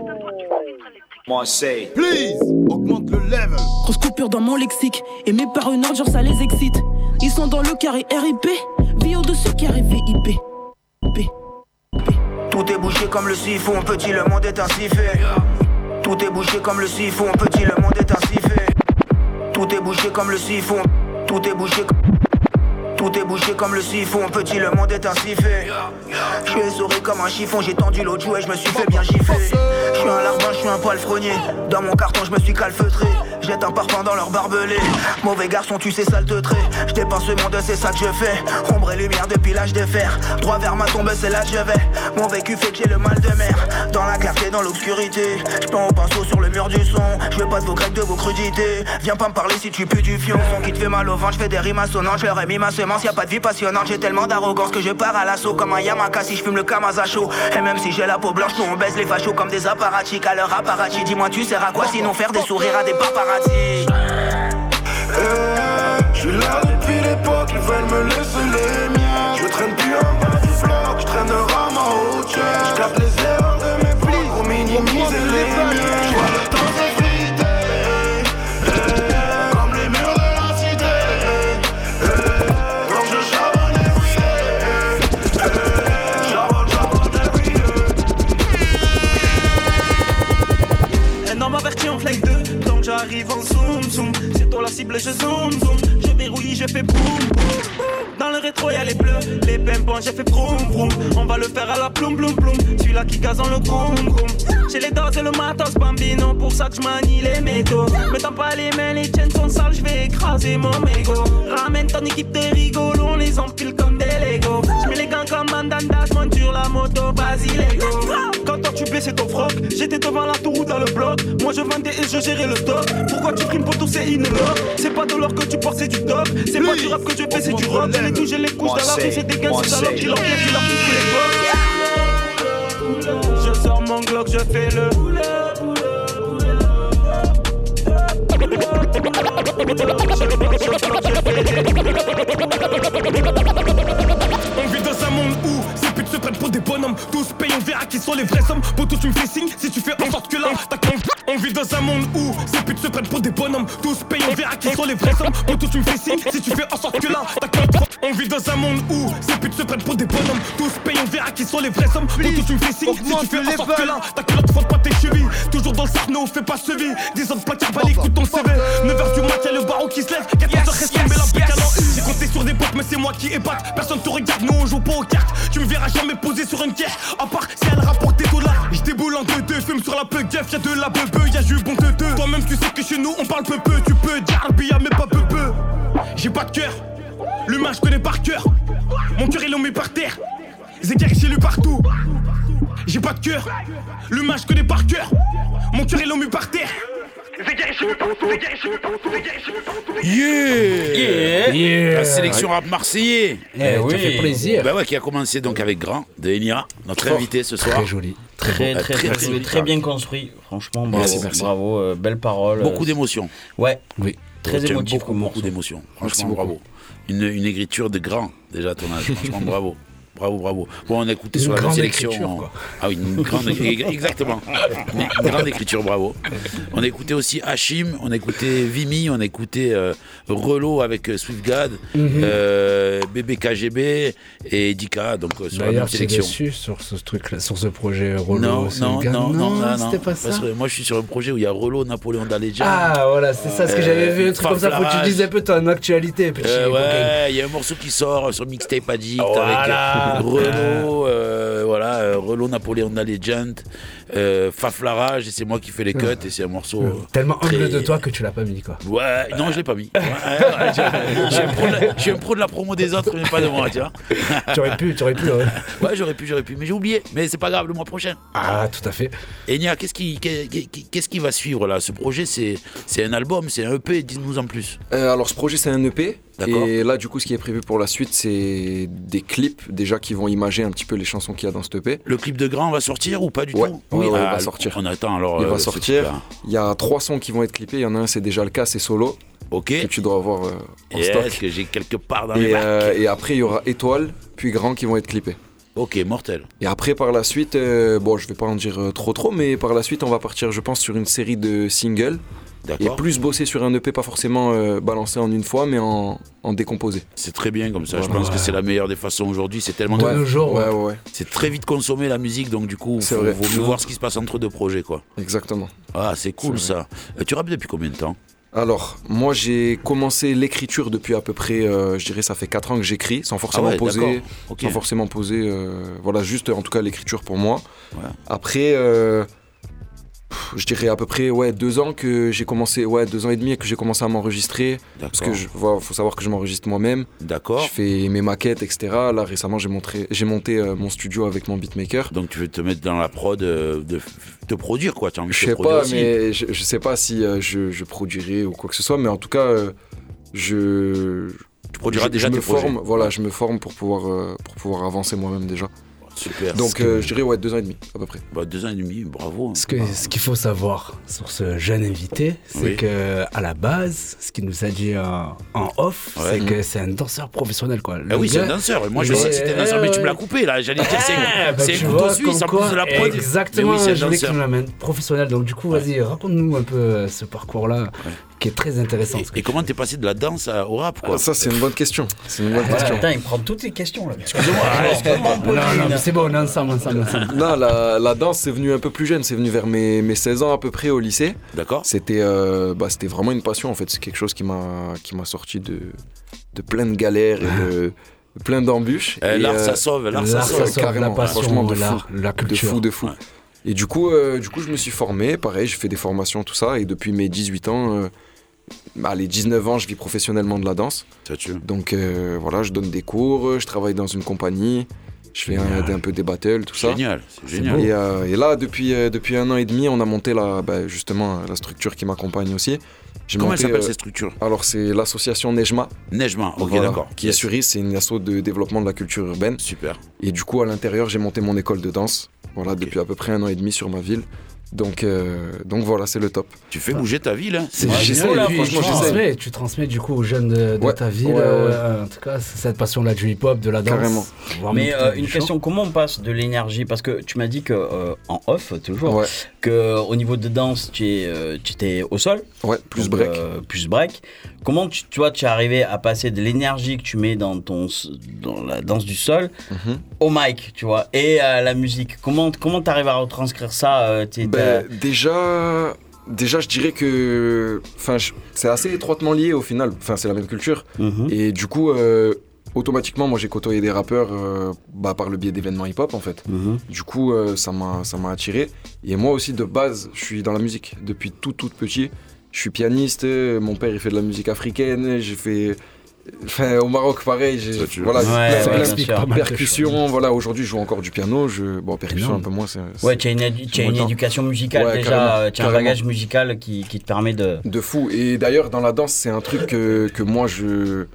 Moi c'est Please, augmente le level. Grosse coupure dans mon lexique. Aimés par une ordre, genre ça les excite. Ils sont dans le carré R I P. Vie au-dessus carré V I P. P. Tout est bouché comme le siphon, petit, le monde est ainsi fait. Tout est bouché comme le siphon, petit, le monde est ainsi fait. Tout est bouché comme le siphon, tout est bouché comme... Tout est bouché comme le siphon, petit, le monde est ainsi fait. Je suis essoré comme un chiffon, j'ai tendu l'autre joue et je me suis fait bien gifler. Je suis un larbin, je suis un palefrenier. Dans mon carton, je me suis calfeutré. Jette un parfum dans leur barbelé. Mauvais garçon, tu sais, sale te trait. Je dépense ce monde, c'est ça que je fais. Ombre et lumière depuis l'âge de fer. Droit vers ma tombe, c'est là que je vais. Mon vécu fait que j'ai le mal de mer. Dans la clarté, dans l'obscurité. Je peins au pinceau sur le mur du son. Je veux pas de vos grecs, de vos crudités. Viens pas me parler si tu pues du fion. Son qui te fait mal au ventre, je fais des rimes assonantes. Je leur ai mis ma semence, y a pas de vie passionnante. J'ai tellement d'arrogance que je pars à l'assaut. Comme un Yamaka si je fume le Kamazacho. Et même si j'ai la peau blanche, nous on baisse les fachos comme des apparatchiks. À leur apparatchik, dis-moi tu sers à quoi sinon faire des sourires à des paparazzi. Je suis là depuis l'époque, ils veulent me laisser les miens. Je traîne plus en bas du bloc, je traîne un rame en haut. Je capte les erreurs de mes plis pour minimiser les miens. Je vois le temps s'effriter, comme les murs de la cité. Quand je charbonne everyday, charbonne, charbonne everyday. Un homme averti en flag deux. J'arrive en zoom zoom, c'est toi la cible, je zoom zoom. Je verrouille, je fais boum boum. Dans le rétro y'a les bleus, les pimpons, j'ai fait vroom vroom. On va le faire à la ploum ploum ploum. Celui-là qui gaz en le groom groom. J'ai les doses et le matos bambino, pour ça que je manie les métaux. Me tends pas les mains, les tiennes sont sales, je vais écraser mon mégot. Ramène ton équipe de rigolos, on les empile comme des Legos. Je mets les gants comme Mandanda, je monte sur la moto, Basilego. Quand toi tu blessais ton froc, j'étais devant la tour ou dans le bloc. Moi je vendais et je gérais le stock. Pourquoi tu primes pour tout c'est une love? C'est pas de l'or que tu portes, c'est du top. C'est pas du rap que je fais, c'est du rock. J'ai les touches, j'ai les couches dans la rue, c'est des gars, c'est salopes qui leur viennent, qui leur touchent les potes. Je sors mon Glock, je fais le On vit dans un monde où ces putes se prennent pour des bonhommes. Tous payent, on verra qui sont les vrais hommes. Pour tous tu me fais signe si tu fais en sorte que là t'as con. On vit dans un monde où ces putes se prennent pour des bonhommes. Tous payent, on verra qui sont les vrais hommes. Pour tous tu me fais signe si tu fais en sorte que là t'as con. On vit dans un monde où ces putes se prennent pour des bonhommes. Tous payent, on verra qui sont les vrais hommes. Pour tous tu me fais signe si tu fais en sorte que là t'as que l'autre faute pas tes chevilles. Toujours dans le sarno, fais pas sevi. dix ans de placard, bah écoute ton C V. neuf heures du matin, le barreau qui se lève. quatorze heures reste tomber la pécale en U. J'ai compté sur des potes, mais c'est moi qui épate. Personne te regarde, nous on joue pas aux cartes. Tu me verras jamais poser sur une caisse. À part si elle rapporte des dollars. J'déboule en deux deux, fume sur la peu gueuf. Y'a de la bebe, y'a du bon deux deux. Toi-même tu sais que chez nous on parle peu peu. Tu peux dire Arbia mais pas peu peu. J'ai pas de cœur, l'humain je connais par cœur. Mon cœur ils l'ont mis par terre. Zéguer chez lui partout. J'ai pas de cœur, l'humain je connais par cœur. Mon cœur ils l'ont mis par terre. Yeah, yeah, yeah. La sélection rap marseillais. Eh, oui. Ça fait plaisir. Bah ouais, qui a commencé donc avec Grand de Enira, notre oh, invité ce soir. Très joli, très très, très, très, très, très bien construit. Franchement, bravo, merci, merci. Bravo, euh, belle parole. Beaucoup d'émotions. Ouais, oui, très émotif. Beaucoup, beaucoup d'émotions. Franchement, bravo. Une, une écriture de Grand déjà à ton âge. Franchement, bravo. Bravo, bravo. Bon, on a écouté Une sur la grande sélection. écriture, quoi. Ah oui, une grande exactement. Une grande écriture, bravo. On a écouté aussi Hachim, on a écouté Vimy, on a écouté euh, Relo avec euh, Swift God, Mhm. euh, B B K G B et Dika, donc euh, sur la même D'ailleurs, tu es sélection. déçu sur ce truc-là, sur ce projet Rolo. Non, ce non, gars- non, non, non, c'était non. pas ça. Parce que moi, je suis sur un projet où il y a Relo, Napoléon Daledja. Ah, voilà, c'est ça, ce que j'avais vu, un truc comme ça, faut que tu dises un peu ton actualité, petit. Euh, cocaine. ouais, il y a un morceau qui sort sur Mixtape Addict Voilà. avec euh, Renault, euh, voilà, euh, Renault Napoléon the Legend, euh, Faflarage, et c'est moi qui fais les cuts, et c'est un morceau. euh, Tellement très- humble de toi que tu l'as pas mis, quoi. Ouais, non, je l'ai pas mis. Ouais, ouais, je, je suis un pro de la, je suis un pro de la promo des autres, mais pas de moi, tu vois. Tu aurais pu, tu aurais pu, ouais. Ouais, j'aurais pu, j'aurais pu, mais j'ai oublié. Mais c'est pas grave, le mois prochain. Ah, tout à fait. Et Nia, qu'est-ce qui, qu'est- qu'est- qu'est-ce qui va suivre là? Ce projet, c'est, c'est un album, c'est un E P, dis-nous en plus. Euh, alors ce projet c'est un E P. D'accord. Et là du coup ce qui est prévu pour la suite c'est des clips déjà qui vont imager un petit peu les chansons qu'il y a dans ce E P. Le clip de Grand va sortir ou pas du Ouais, tout? ouais, ouais, il ah, va sortir. On attend alors. Il euh, va c'est sortir. super. Il y a trois sons qui vont être clippés. Il y en a un c'est déjà le cas, c'est Solo. Ok. Que tu dois avoir euh, en Yes, stock. que j'ai quelque part dans les Et, bacs. euh, et après il y aura Étoile puis Grand qui vont être clippés. Ok, mortel. Et après par la suite, euh, bon je vais pas en dire euh, trop trop, mais par la suite on va partir je pense sur une série de singles. Et D'accord. plus bosser sur un E P, pas forcément euh, balancé en une fois, mais en, en décomposé. C'est très bien comme ça. Je Voilà. pense que c'est la meilleure des façons aujourd'hui. C'est tellement De nos jours, ouais, ouais, ouais. C'est très vite consommé la musique, donc du coup, C'est faut, vrai. vaut mieux voir ce qui se passe entre deux projets, quoi. Exactement. Ah, c'est cool C'est ça. Euh, tu rappes depuis combien de temps? Alors, moi j'ai commencé l'écriture depuis à peu près, euh, je dirais ça fait quatre ans que j'écris, sans forcément Ah ouais, d'accord. poser, Ok. sans forcément poser, euh, voilà, juste en tout cas l'écriture pour moi. Ouais. Après, euh, pff, je dirais à peu près ouais deux ans que j'ai commencé, ouais deux ans et demi que j'ai commencé à m'enregistrer, parce que je, voilà, faut savoir que je m'enregistre moi-même. D'accord. Je fais mes maquettes, et cetera. Là récemment j'ai montré, j'ai monté euh, mon studio avec mon beatmaker. Donc tu veux te mettre dans la prod, euh, de f- te produire quoi. Tu as envie de Je te sais produire pas, aussi. mais je, je sais pas si euh, je, je produirai ou quoi que ce soit, mais en tout cas, euh, je. Tu produiras je, déjà je me tes projets. forme, voilà, je me forme pour pouvoir, euh, pour pouvoir avancer moi-même déjà. Super. Donc Ce euh, que- je dirais ouais deux ans et demi à peu près. Bah, deux ans et demi, bravo. Ce que- ce qu'il faut savoir sur ce jeune invité, c'est Oui. que à la base, ce qu'il nous a dit en, en off, Ouais. c'est que c'est un danseur professionnel, quoi. Le Ah oui, c'est un gars, danseur. Moi, je il pensais est- que c'était un danseur, mais tu me l'as ouais. coupé là. J'allais dire, c'est Ah, bah, c'est tu un couteau vois, suisse en comme plus de la quoi, prod. Exactement, Mais oui, c'est un je voulais que tu danseur. nous l'amènes professionnel. Donc du coup, vas-y, raconte-nous un peu euh, ce parcours-là, qui est très intéressant. Et comment t'es passé de la danse à- au rap quoi? Ah, ça c'est une bonne question. C'est une bonne Ouais, question. Attends, il prend toutes les questions là. Excusez-moi. Non, non, mais c'est bon, on est ensemble, ensemble, ensemble. Non, la, la danse c'est venu un peu plus jeune, c'est venu vers mes, mes seize ans à peu près au lycée. D'accord. C'était euh, bah, c'était vraiment une passion en fait, c'est quelque chose qui m'a qui m'a sorti de, de plein de galères et de, de plein d'embûches. Euh, Et, l'art, euh, ça sauve, l'art, ça L'art, sauve. ça sauve, carrément, la passion, franchement de fou, l'art, la de culture. fou, de fou. Ouais. Et du coup, euh, du coup, je me suis formé, pareil, j'ai fait des formations, tout ça, et depuis mes dix-huit ans, euh, bah, les dix-neuf ans, je vis professionnellement de la danse. Ça tue. Donc euh, voilà, je donne des cours, je travaille dans une compagnie, je fais un, Génial. un peu des battles, tout ça. Génial, c'est génial. Et, euh, et là, depuis, euh, depuis un an et demi, on a monté la, bah, justement la structure qui m'accompagne aussi. J'ai Comment monté, elle s'appelle euh, cette structure? Alors c'est l'association Nejma. Nejma, ok, Voilà, d'accord. Qui est sur Is, c'est une asso de développement de la culture urbaine. Super. Et du coup, à l'intérieur, j'ai monté mon école de danse. Voilà, depuis à peu près un an et demi sur ma ville. Donc, euh, donc voilà, c'est le top. Tu fais bouger ta ville, hein? C'est Ouais, génial, j'essaie, et puis franchement, tu j'essaie. transmets, tu transmets du coup aux jeunes de, de Ouais, ta ville, ouais, ouais. euh, en tout cas, cette passion-là du hip-hop, de la danse. Carrément. voire Mais même euh, du une chant. question, comment on passe de l'énergie? Parce que tu m'as dit que euh, en off toujours, Ouais. que au niveau de danse, tu es, euh, tu étais au sol. Ouais, plus Donc, break. euh, plus break. Comment tu, tu vois, tu es arrivé à passer de l'énergie que tu mets dans ton s- dans la danse du sol Mhm. au mic, tu vois, et à la musique. Comment comment t'arrives à retranscrire ça? euh, t'es- Ben, déjà, déjà, je dirais que, enfin, je- c'est assez étroitement lié au final. Enfin, c'est la même culture. t'as- Mhm. Et du coup, euh, automatiquement, moi, j'ai côtoyé des rappeurs, euh, bah, par le biais d'événements hip-hop, en fait. Mhm. Du coup, euh, ça m'a, ça m'a attiré. Et moi aussi, de base, je suis dans la musique depuis tout, tout petit. Je suis pianiste. euh, Mon père, il fait de la musique africaine. J'ai fait, enfin, au Maroc, pareil. J'ai, Ça, tu- voilà, Ouais, plein- ouais, plein bien de sûr. Pas mal de percussions. Voilà, aujourd'hui, je joue encore du piano. Je, bon, percussion Énorme. un peu moins. C'est, Ouais, c'est- tu as une, édu- tu as mon une temps. éducation musicale Ouais, déjà, carrément, euh, tu as un carrément. bagage musical qui, qui te permet de. De fou. Et d'ailleurs, dans la danse, c'est un truc que, que moi, je...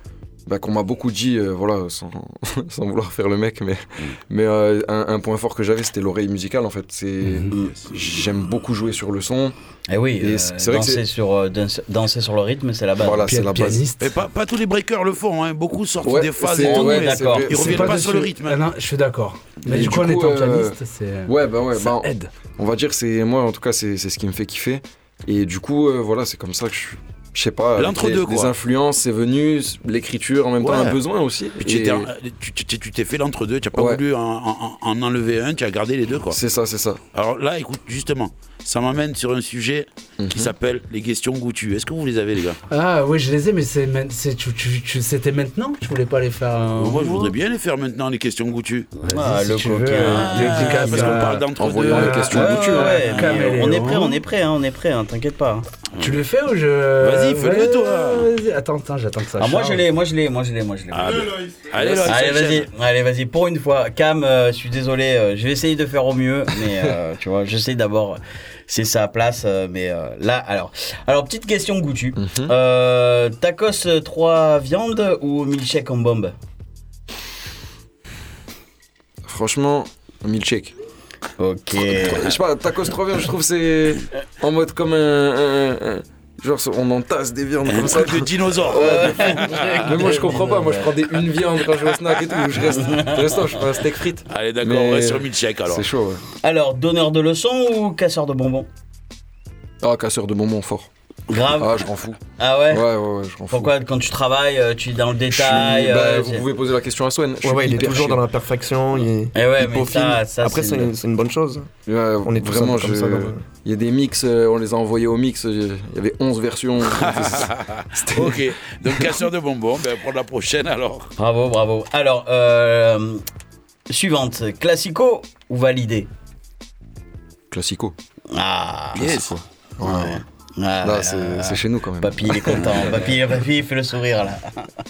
bah, qu'on m'a beaucoup dit, euh, voilà, sans, sans vouloir faire le mec, mais, mais euh, un, un point fort que j'avais, c'était l'oreille musicale, en fait. C'est, mm-hmm. J'aime beaucoup jouer sur le son. Et oui, et euh, c'est vrai danser, que c'est... Sur, euh, danser, danser sur le rythme, c'est la base. Voilà, c'est la base. Mais pas, pas tous les breakers le font, hein. Beaucoup sortent ouais, des phases et tout, ouais, d'accord. Ils reviennent pas, pas sur le rythme. Ah non, je suis d'accord. Mais et du, du coup, en étant pianiste, c'est... Ouais, bah ouais, ça bah, aide. On va dire, c'est moi, en tout cas, c'est, c'est ce qui me fait kiffer. Et du coup, euh, voilà, c'est comme ça que je... Je sais pas, l'entre-deux, les, les influences, c'est venu, l'écriture en même ouais. temps, un besoin aussi. Puis et... tu, tu, tu t'es fait l'entre-deux, tu n'as pas ouais. voulu en, en, en enlever un, tu as gardé les deux, quoi. C'est ça, c'est ça. Alors là, écoute, justement, ça m'amène sur un sujet mm-hmm. qui s'appelle les questions goûtues. Est-ce que vous les avez, les gars? Ah oui, je les ai, mais c'est, c'est, tu, tu, tu, c'était maintenant que tu voulais pas les faire un... Moi, je voudrais bien les faire maintenant, les questions goûtues. Ah, si le coquin. Ah, parce qu'on parle d'entre-deux. Les questions goûtues. On est prêt, on est prêt, on est prêt, t'inquiète pas. Tu le fais ou je... Vas-y, fais-le toi. Vas-y, attends, attends, j'attends que ça. Ah, moi je l'ai, moi je l'ai, moi je l'ai, moi je l'ai. Ah, allez, allez, allez vas-y, allez, vas-y. Pour une fois, Cam, euh, je suis désolé, euh, je vais essayer de faire au mieux, mais euh, tu vois, j'essaie d'abord. C'est sa place, euh, mais euh, là, alors, alors petite question goûtue. Mm-hmm. Euh, tacos trois viandes ou milkshake en bombe? Franchement, milkshake. Ok. Je sais pas, tacos trois viandes, je trouve c'est en mode comme un, un, un genre on entasse des viandes comme ça. De dinosaures. Ouais, mais moi je comprends pas, moi je prends des une viande quand je vais au snack et tout, je reste, je reste là, je fais un steak frites. Allez d'accord, mais on reste sur milkshake alors. C'est chaud ouais. Alors, donneur de leçons ou casseur de bonbons? Ah, casseur de bonbons fort. Grave. Ah, je m'en fous. Ah ouais? Ouais, ouais, ouais, je m'en fous. Pourquoi quand tu travailles, tu es dans le détail suis... bah, euh, Vous pouvez poser la question à Swen. Ouais, ouais, il est toujours chier. Dans l'imperfection. Il, est... eh ouais, il mais ça, ça, Après, c'est, c'est, une, c'est une bonne chose. Ouais, on est tous vraiment, comme je... ça. Dans... Il y a des mix, on les a envoyés au mix. Il y avait onze versions. Ok, donc casseur de bonbons, ben, pour la prochaine alors. Bravo, bravo. Alors, euh, suivante, classico ou validé? Classico. Ah, yes. Ouais. ouais. Ah, là, c'est, euh, c'est chez nous quand même. Papy, il est content. Papy, papy, il fait le sourire là.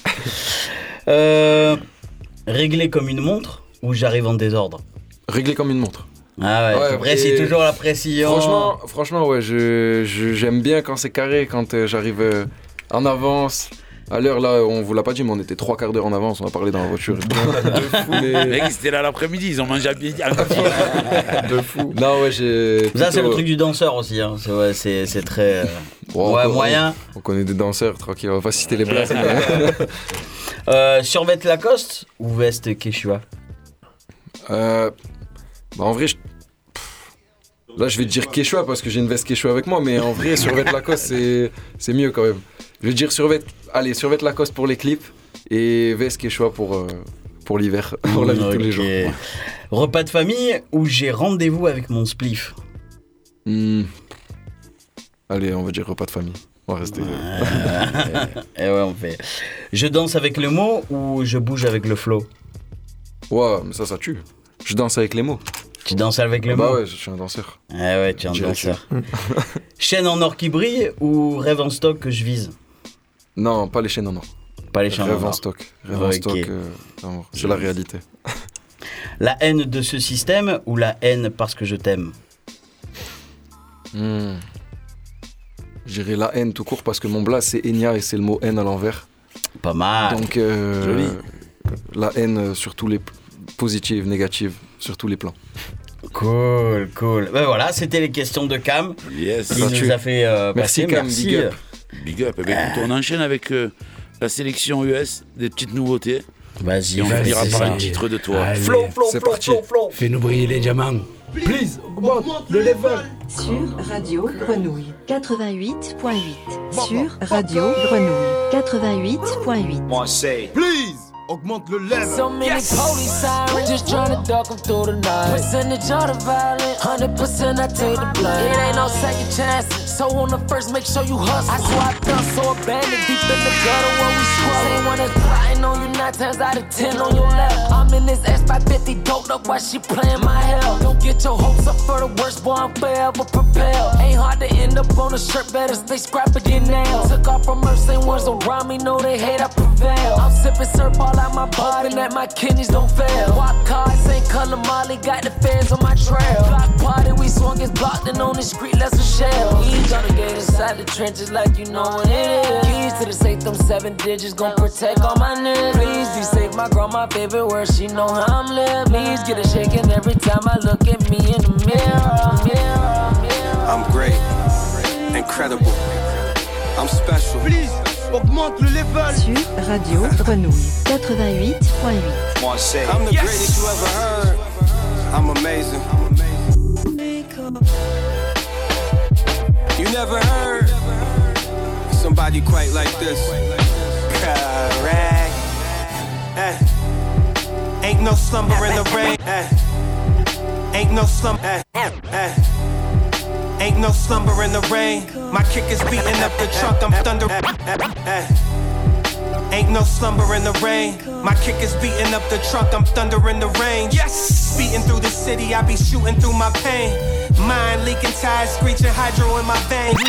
euh, régler comme une montre ou j'arrive en désordre? Régler comme une montre. Ah ouais, ouais tu précises toujours la précision. Franchement, franchement ouais, je, je, j'aime bien quand c'est carré, quand euh, j'arrive euh, en avance. À l'heure, là, on vous l'a pas dit, mais on était trois quarts d'heure en avance, on a parlé dans la voiture. De fou, mais... Les mecs, c'était là l'après-midi, ils ont mangé à midi. De fou. Non, ouais, j'ai... Ça, plutôt... c'est le truc du danseur aussi, hein. C'est, ouais, c'est, c'est très... Euh... Bon, ouais, on, moyen. On, on connaît des danseurs, tranquille, on va pas citer les blagues. mais... euh, survêt Lacoste ou veste Quechua? euh, bah, en vrai, je... là, je vais te dire Quechua parce que j'ai une veste Quechua avec moi, mais en vrai, survêt Lacoste, c'est, c'est mieux quand même. Je vais dire survêt, allez, survêt Lacoste pour les clips et veste Quechua pour, euh, pour l'hiver, pour la vie de tous les jours. Repas de famille où j'ai rendez-vous avec mon spliff? mmh. Allez, on va dire repas de famille. On va rester. Et ouais, on fait. Je danse avec le mot ou je bouge avec le flow? Ouais, mais ça, ça tue. Je danse avec les mots. Tu danses avec le bah mot? Bah ouais, je suis un danseur. Ah ouais, tu es un danseur. Chaîne en or qui brille ou rêve en stock que je vise? Non, pas les chaînes en or. Pas les chaînes en or. Rêve en stock. Rêve en stock, euh, non, c'est la réalité. La haine de ce système ou la haine parce que je t'aime? mmh. Je dirais la haine tout court parce que mon blast c'est Enya et c'est le mot haine à l'envers. Pas mal. Donc, euh, joli. La haine sur tous les positives, négatives, sur tous les plans. Cool, cool. Ben voilà, c'était les questions de Cam. Yes. Qui nous a fait euh, Merci passer. Cam, Merci. big up. Big up. Eh bien, écoute, on enchaîne avec euh, la sélection U S, des petites nouveautés. Vas-y, et on finira par un ça. titre de toi. Allez. Flow, flow, c'est flow, parti. flow, flow. Fais-nous briller les diamants. Please, augmente le level. Sur Radio Grenouille quatre-vingt-huit point huit. Sur Radio Grenouille quatre-vingt-huit point huit. Moi, say, please. Augmente le level. So many yes. police sirens just trying to duck them through the night. Percentage of the violent, one hundred percent I take the blame. It ain't no second chances, so on the first make sure you hustle. I swapped up so abandoned deep in the gutter where we squat. Same one that's plotting on you now. nine times out of ten on your left. I'm in this S five fifty doped up while she playing my hell. Don't get your hopes up for the worst, boy, I'm forever prepared. Ain't hard to end up on a shirt, better stay scrappy than nails. Took off from her, same ones around me, know they hate I prevail. I'm sipping syrup all out my body, that my kidneys don't fail. Walk cars, ain't color Molly, got the fans on my trail. Block party, we swung his blocked and on the street, less a shell. Each on the gate inside the trenches like you know what it is. Keys to the safe, them seven digits, gon' protect all my niggas. Please be safe, my girl, my favorite word, she know how I'm living. Please get a shaking every time I look at me in the mirror, mirror, mirror. I'm great, incredible, I'm special. Please, augmente le level. Sur Radio Grenouille quatre-vingt-huit point huit. Moi, say, I'm the yes. greatest you ever heard. I'm amazing. You never heard somebody quite like this. Correct. Eh. Ain't no slumber in the rain. Eh. Ain't no slumber. Eh. Eh. Ain't no slumber in the rain. My kick is beating up the trunk. I'm thunder. Eh. Eh. Eh. Ain't no slumber in the rain. My kick is beating up the trunk. I'm thunder in the rain. Yes. Beating through the city. I be shooting through my pain. Mind leaking, tires screeching, hydro in my veins.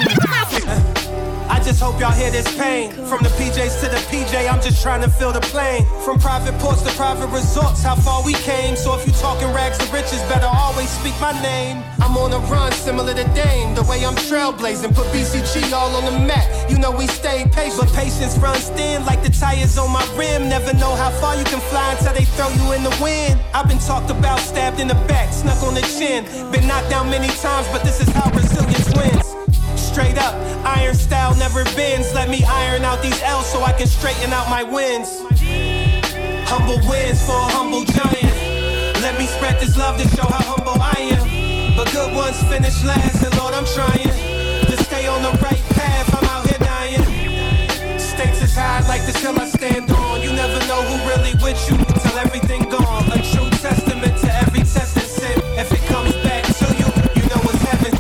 I just hope y'all hear this pain. From the P Js to the P J, I'm just trying to fill the plane. From private ports to private resorts, how far we came. So if you talking rags to riches, better always speak my name. I'm on a run similar to Dame. The way I'm trailblazing, put B C G all on the map. You know we stay patient, but patience runs thin like the tires on my rim. Never know how far you can fly until they throw you in the wind. I've been talked about, stabbed in the back, snuck on the chin. Been knocked down many times, but this is how resilience wins. Straight up, iron style never bends. Let me iron out these L's so I can straighten out my wins. Humble wins for a humble giant. Let me spread this love to show how humble I am. But good ones finish last, and Lord, I'm trying to stay on the right path. I'm out here dying. Stakes is high like this hill I stand on. You never know who really with you until everything gone. A true testament to every test and sin. If it comes back to you, you know it's heaven.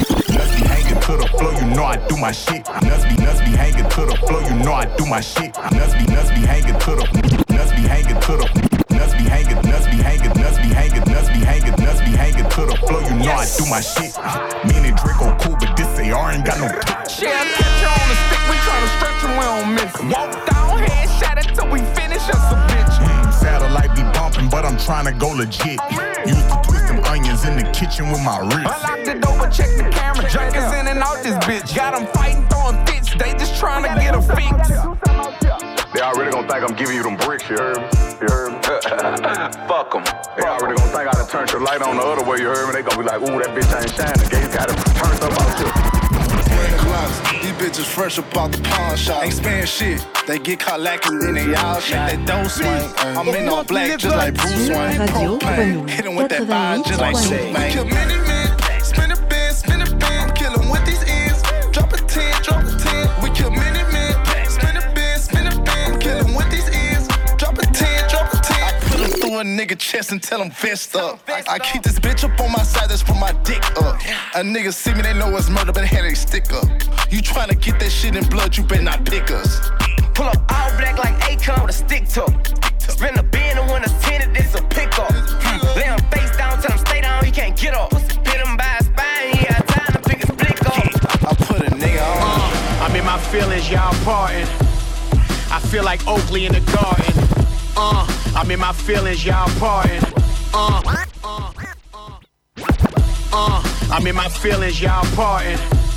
To the flow, you know I do my shit. Nuts be nuts be hanging to the flow, you know I do my shit. Nuts be nuts be hanging to the nuts be hanging to the nuts be hanging nuts be hanging nuts be hanging nuts be hanging nuts be hanging to the flow, you know I do my shit. Me and Draco cool, but this A R ain't got no. Yeah, catch you on the stick, we tryna stretch you, we don't miss. Walk down, head shot it till we finish us a bitch. Mm, satellite be bumping, but I'm tryna go legit. Used to twist them onions in the kitchen with my wrist. Unlock the door, but check the camera. Junkies in and out this bitch. Got them fighting, throwing fits. They just trying to get a fix. They already gonna think I'm giving you them bricks, you heard me? You heard me? Fuck them. They already gonna think I done turned your light on the other way, you heard me? They gonna be like, ooh, that bitch ain't shining. They got it turned up out you. These bitches fresh up out the pawn shop. Ain't spaying shit. They get caught lacking, then they all shit. They don't swing. I'm in all black just like Bruce Wayne. Propane. Hit him with that vibe just like Superman. Kill many men. Spin a bin, spin a bin. I'm killing with these ends. Drop a ten, drop a ten. We kill many men. Spin a bin, spin a bin. I'm killing with these ends. Drop a ten, drop a ten. I put him through a nigga chest and tell him vest up. I, I keep this bitch up on my side, that's for my dick up. A nigga see me, they know it's murder, but had they stick up. You tryna get that shit in blood, you better not pick us. Pull up all black like Akon with a stick to spin a bin and when it's tinted, it's a pickup. Hmm. Lay him face down, tell him stay down, he can't get up. Hit him by his spine, he got time to pick his blick up. I put a nigga on. Uh, I'm in my feelings, y'all parting. I feel like Oakley in the garden. Uh, I'm in my feelings, y'all parting. Uh, uh, uh, uh, I'm in my feelings, y'all parting.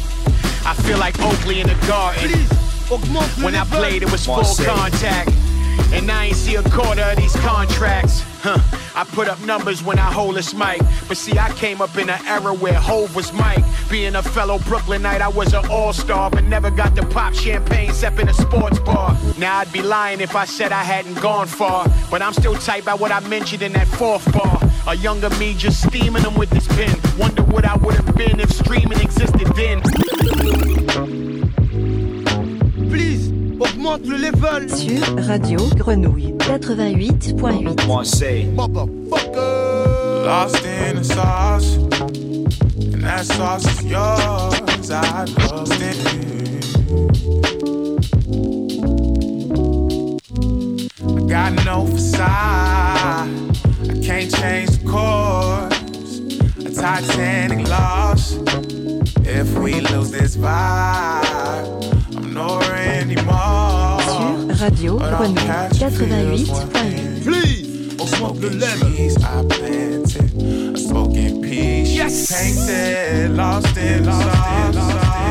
I feel like Oakley in the garden. When I played, it was full contact. And I ain't see a quarter of these contracts. Huh. I put up numbers when I hold this mic. But see, I came up in an era where Hov was Mike. Being a fellow Brooklynite, I was an all-star, but never got to pop champagne except in a sports bar. Now I'd be lying if I said I hadn't gone far. But I'm still tight by what I mentioned in that fourth bar. A younger me just steaming them with this pen. Wonder what I would have been if streaming existed then. Please, augmente le level. Sur Radio Grenouille quatre-vingt-huit point huit. Moi, say, motherfucker. Lost in the sauce, and that sauce is yours. I lost it. I got no facade. I can't change the course. A Titanic loss. If we lose this vibe, I'm no Randy Moss. Sur Radio Grenouille quatre-vingt-huit point huit. Please, augmente le level. I planted a smoking peace. Yes. Painted, lost in lost.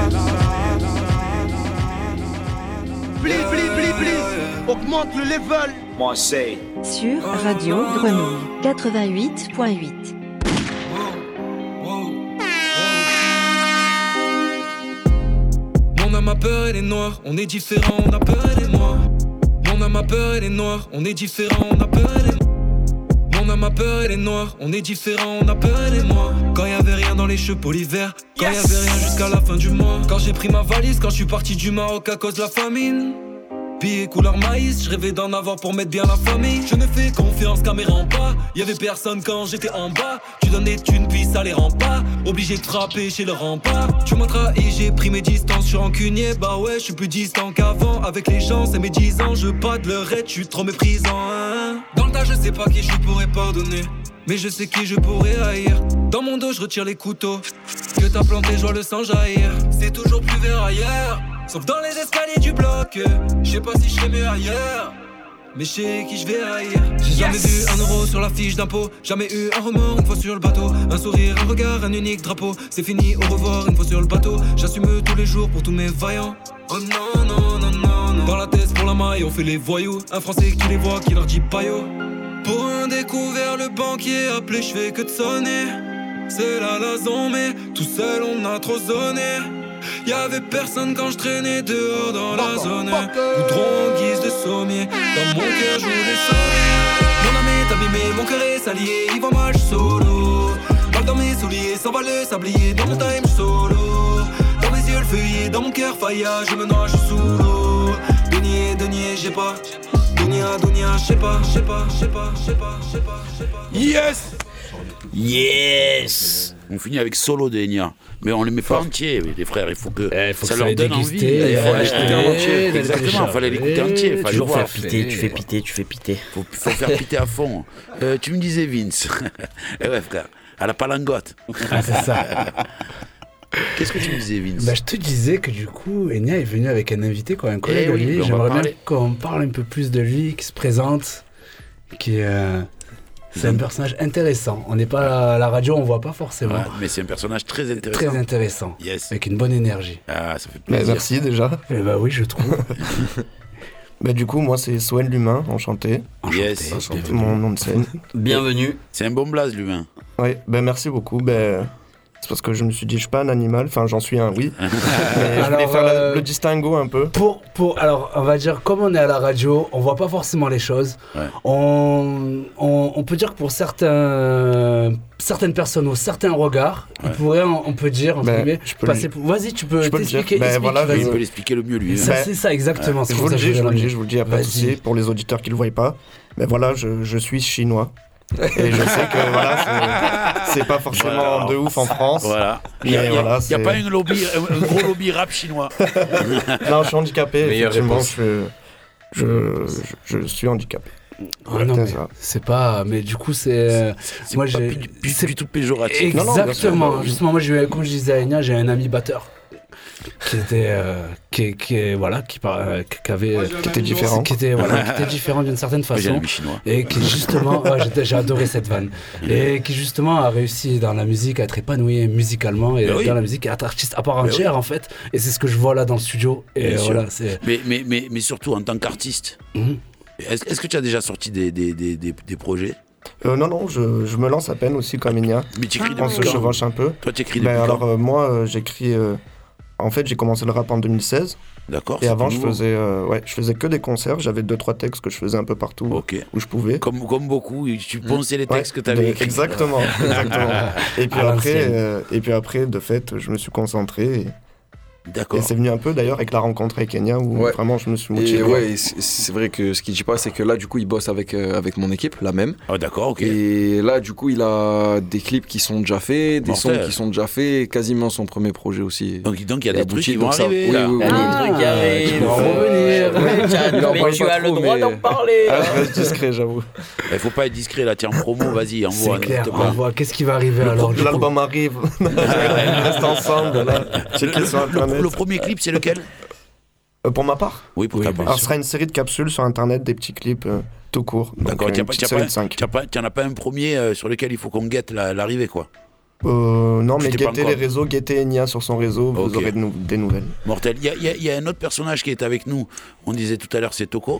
Please, please, please, please, augmente le level. Moi c'est Sur Radio Grenouille quatre-vingt-huit point huit. Mon âme a peur, elle est noire, on est différent, on a peur, elle est noire. Mon âme a peur, elle est noire, on est différent, on a peur, elle est noire. Mon âme a peur, elle est noire, on est différent, on a peur, elle est noire. Quand y'avait rien dans les cheveux pour l'hiver, quand yes. y'avait rien jusqu'à la fin du mois. Quand j'ai pris ma valise, quand je suis parti du Maroc à cause de la famine. Billets couleur maïs, je rêvais d'en avoir pour mettre bien la famille. Je ne fais confiance caméra en bas, y'avait personne quand j'étais en bas. Tu donnais une puis ça les rend pas, obligé de frapper chez le rempart. Tu m'as trahi, j'ai pris mes distances, je suis rancunier. Bah ouais, je suis plus distant qu'avant. Avec les gens, c'est mes dix ans, je pas de leur aide, je suis trop méprisant hein. Dans le tas, je sais pas qui je pourrais pardonner, mais je sais qui je pourrais haïr. Dans mon dos, je retire les couteaux que t'as planté, je vois le sang jaillir. C'est toujours plus vert ailleurs, sauf dans les escaliers du bloc. Je sais pas si je serais mieux ailleurs, mais je sais qui je vais haïr. J'ai yes. jamais vu un euro sur la fiche d'impôt, jamais eu un remords une fois sur le bateau. Un sourire, un regard, un unique drapeau. C'est fini, au revoir une fois sur le bateau. J'assume tous les jours pour tous mes vaillants. Oh non, non, non, non, non. Dans la tête pour la maille, on fait les voyous. Un français qui les voit, qui leur dit paillot. Pour un découvert, le banquier appelé, je fais que de sonner. C'est la lason, mais tout seul on a trop zoné. Y'avait personne quand je traînais dehors dans la zone. Goudron en guise de sommier, dans mon cœur je voulais sauver. Mon âme est abîmée, mon cœur est salié. Il va mal, je solo. Balle dans mes souliers, s'en va le sablier. Dans mon time, je solo. Dans mes yeux le feuillet, dans mon cœur faillage. Je me noie, je suis sous l'eau. Denier, denier, j'ai pas. Dunia, dunia, je sais pas, je sais pas, je sais pas, je sais pas, je sais pas, je sais pas. Yes! Yes! On finit avec Solo de Enya. Mais on les met pas entiers, les frères. Il faut que eh, faut ça que leur ça donne envie. Il faut l'écouter en entier. Exactement, il fallait l'écouter entier. Tu fais faire piter, tu fais piter, tu fais piter. Faut, faut faire piter à fond. Euh, tu me disais Vince. Eh ouais, frère, à la palangote. Ah, c'est ça. Qu'est-ce que tu me disais, Vince? Bah, je te disais que du coup, Enya est venu avec un invité, quoi, un collègue eh de lui. Oui, J'aimerais bien qu'on parle un peu plus de lui, qui se présente, qui est. Euh... C'est un personnage intéressant. On n'est pas à la radio, on voit pas forcément. Ouais, mais c'est un personnage très intéressant. Très intéressant. Yes. Avec une bonne énergie. Ah, ça fait plaisir. Bah, merci déjà. Eh bah oui, je trouve. Bah du coup, moi c'est Soen l'humain, enchanté. Enchanté. Yes. Enchanté. Mon nom de scène. Bienvenue. C'est un bon blaze l'humain. Oui, ben merci beaucoup. Ben c'est parce que je me suis dit je suis pas un animal, enfin j'en suis un, oui. Mais je alors, voulais faire euh, la, le distinguo un peu. Pour, pour, alors on va dire, comme on est à la radio, on voit pas forcément les choses. Ouais. On, on, on peut dire que pour certains, certaines personnes ou certains regards, ouais. on, pourrait, on peut dire, entre ben, guillemets, passer pour... Vas-y, tu peux t'expliquer. Ben, voilà, il peut l'expliquer le mieux lui. Ça, hein. C'est ça, exactement. Ouais. C'est je, vous ça dis, je, je vous le dis, je vous le dis, il n'y a pas de Vas-y. souci pour les auditeurs qui ne le voient pas. Mais voilà, je, je suis chinois. Et je sais que voilà, c'est, c'est pas forcément voilà. de ouf en France. Voilà. Il n'y a, voilà, a pas une lobby, un gros lobby rap chinois. Non, je suis handicapé. Meilleure réponse. Je, je, je, je suis handicapé. Ah non, mais c'est pas. Mais du coup, c'est. c'est, c'est moi, pas j'ai. Du, du, c'est du tout péjoratif. Exactement. Non, non, Justement, moi, j'ai, comme je disais à Enya, j'ai un ami batteur. Qui était, euh, qui, qui, voilà, qui, euh, qui avait, moi, qui était différent, qui était, voilà, qui était différent d'une certaine façon, et qui justement, ouais, j'ai, j'ai adoré cette vanne, et qui justement a réussi dans la musique à être épanoui musicalement et mais dans oui. la musique, à être artiste à part entière oui. en fait, et c'est ce que je vois là dans le studio, et voilà, c'est... Mais, mais, mais, mais surtout en tant qu'artiste, mm-hmm. est-ce, est-ce que tu as déjà sorti des, des, des, des, des projets? Euh, non, non, je, je me lance à peine aussi comme Enya. Mais tu écris On se chevauche un peu. Toi, tu écris depuis ben, quand? Alors, euh, moi, euh, j'écris. Euh, en fait, j'ai commencé le rap en deux mille seize. D'accord. Et avant, je faisais, euh, ouais, je faisais que des concerts. J'avais deux, trois textes que je faisais un peu partout okay. où je pouvais. Comme, comme beaucoup, tu ponçais les textes ouais, que tu avais écrits. Exactement. exactement. Et, puis après, euh, et puis après, de fait, je me suis concentré. Et, D'accord. Et c'est venu un peu d'ailleurs avec la rencontre avec Enya où Ouais. vraiment je me suis motivé. Et ouais, et c'est c'est vrai que ce qu'il dit pas, c'est que là, du coup, il bosse avec, euh, avec mon équipe, la même. Ah, d'accord, ok. Et là, du coup, il a des clips qui sont déjà faits, des Mortel. sons qui sont déjà faits, quasiment son premier projet aussi. Donc, donc il y a des abouti, trucs qui vont donc ça- arriver. oui, là. oui, oui, Il y a oui. des trucs qui arrivent. tu peux en revenir. Ouais, Tu as- il en mais parle tu pas as le trop, droit mais- d'en parler. Ah, je reste discret, j'avoue. Il faut pas être discret là, tiens, en promo, vas-y, envoie. C'est clair, n'hésite pas. on voit qu'est-ce qui va arriver Le- alors. du coup. L'album arrive. On reste ensemble. Là. Checkez sur Le, internet. le premier clip, c'est lequel? Euh, pour ma part Oui, pour Oui, ta bien part. Alors, ce sera une série de capsules sur internet, des petits clips euh, tout court. Donc, D'accord, euh, tu une petite série de cinq. n'en as pas un premier euh, sur lequel il faut qu'on guette la- l'arrivée, quoi. Euh, non, Tu mais t'es pas guettez encore- les réseaux, guettez Enya sur son réseau, vous Ok. aurez de nou- des nouvelles. Mortel. Il y a, il y a- il y a un autre personnage qui est avec nous. On disait tout à l'heure, c'est Toko.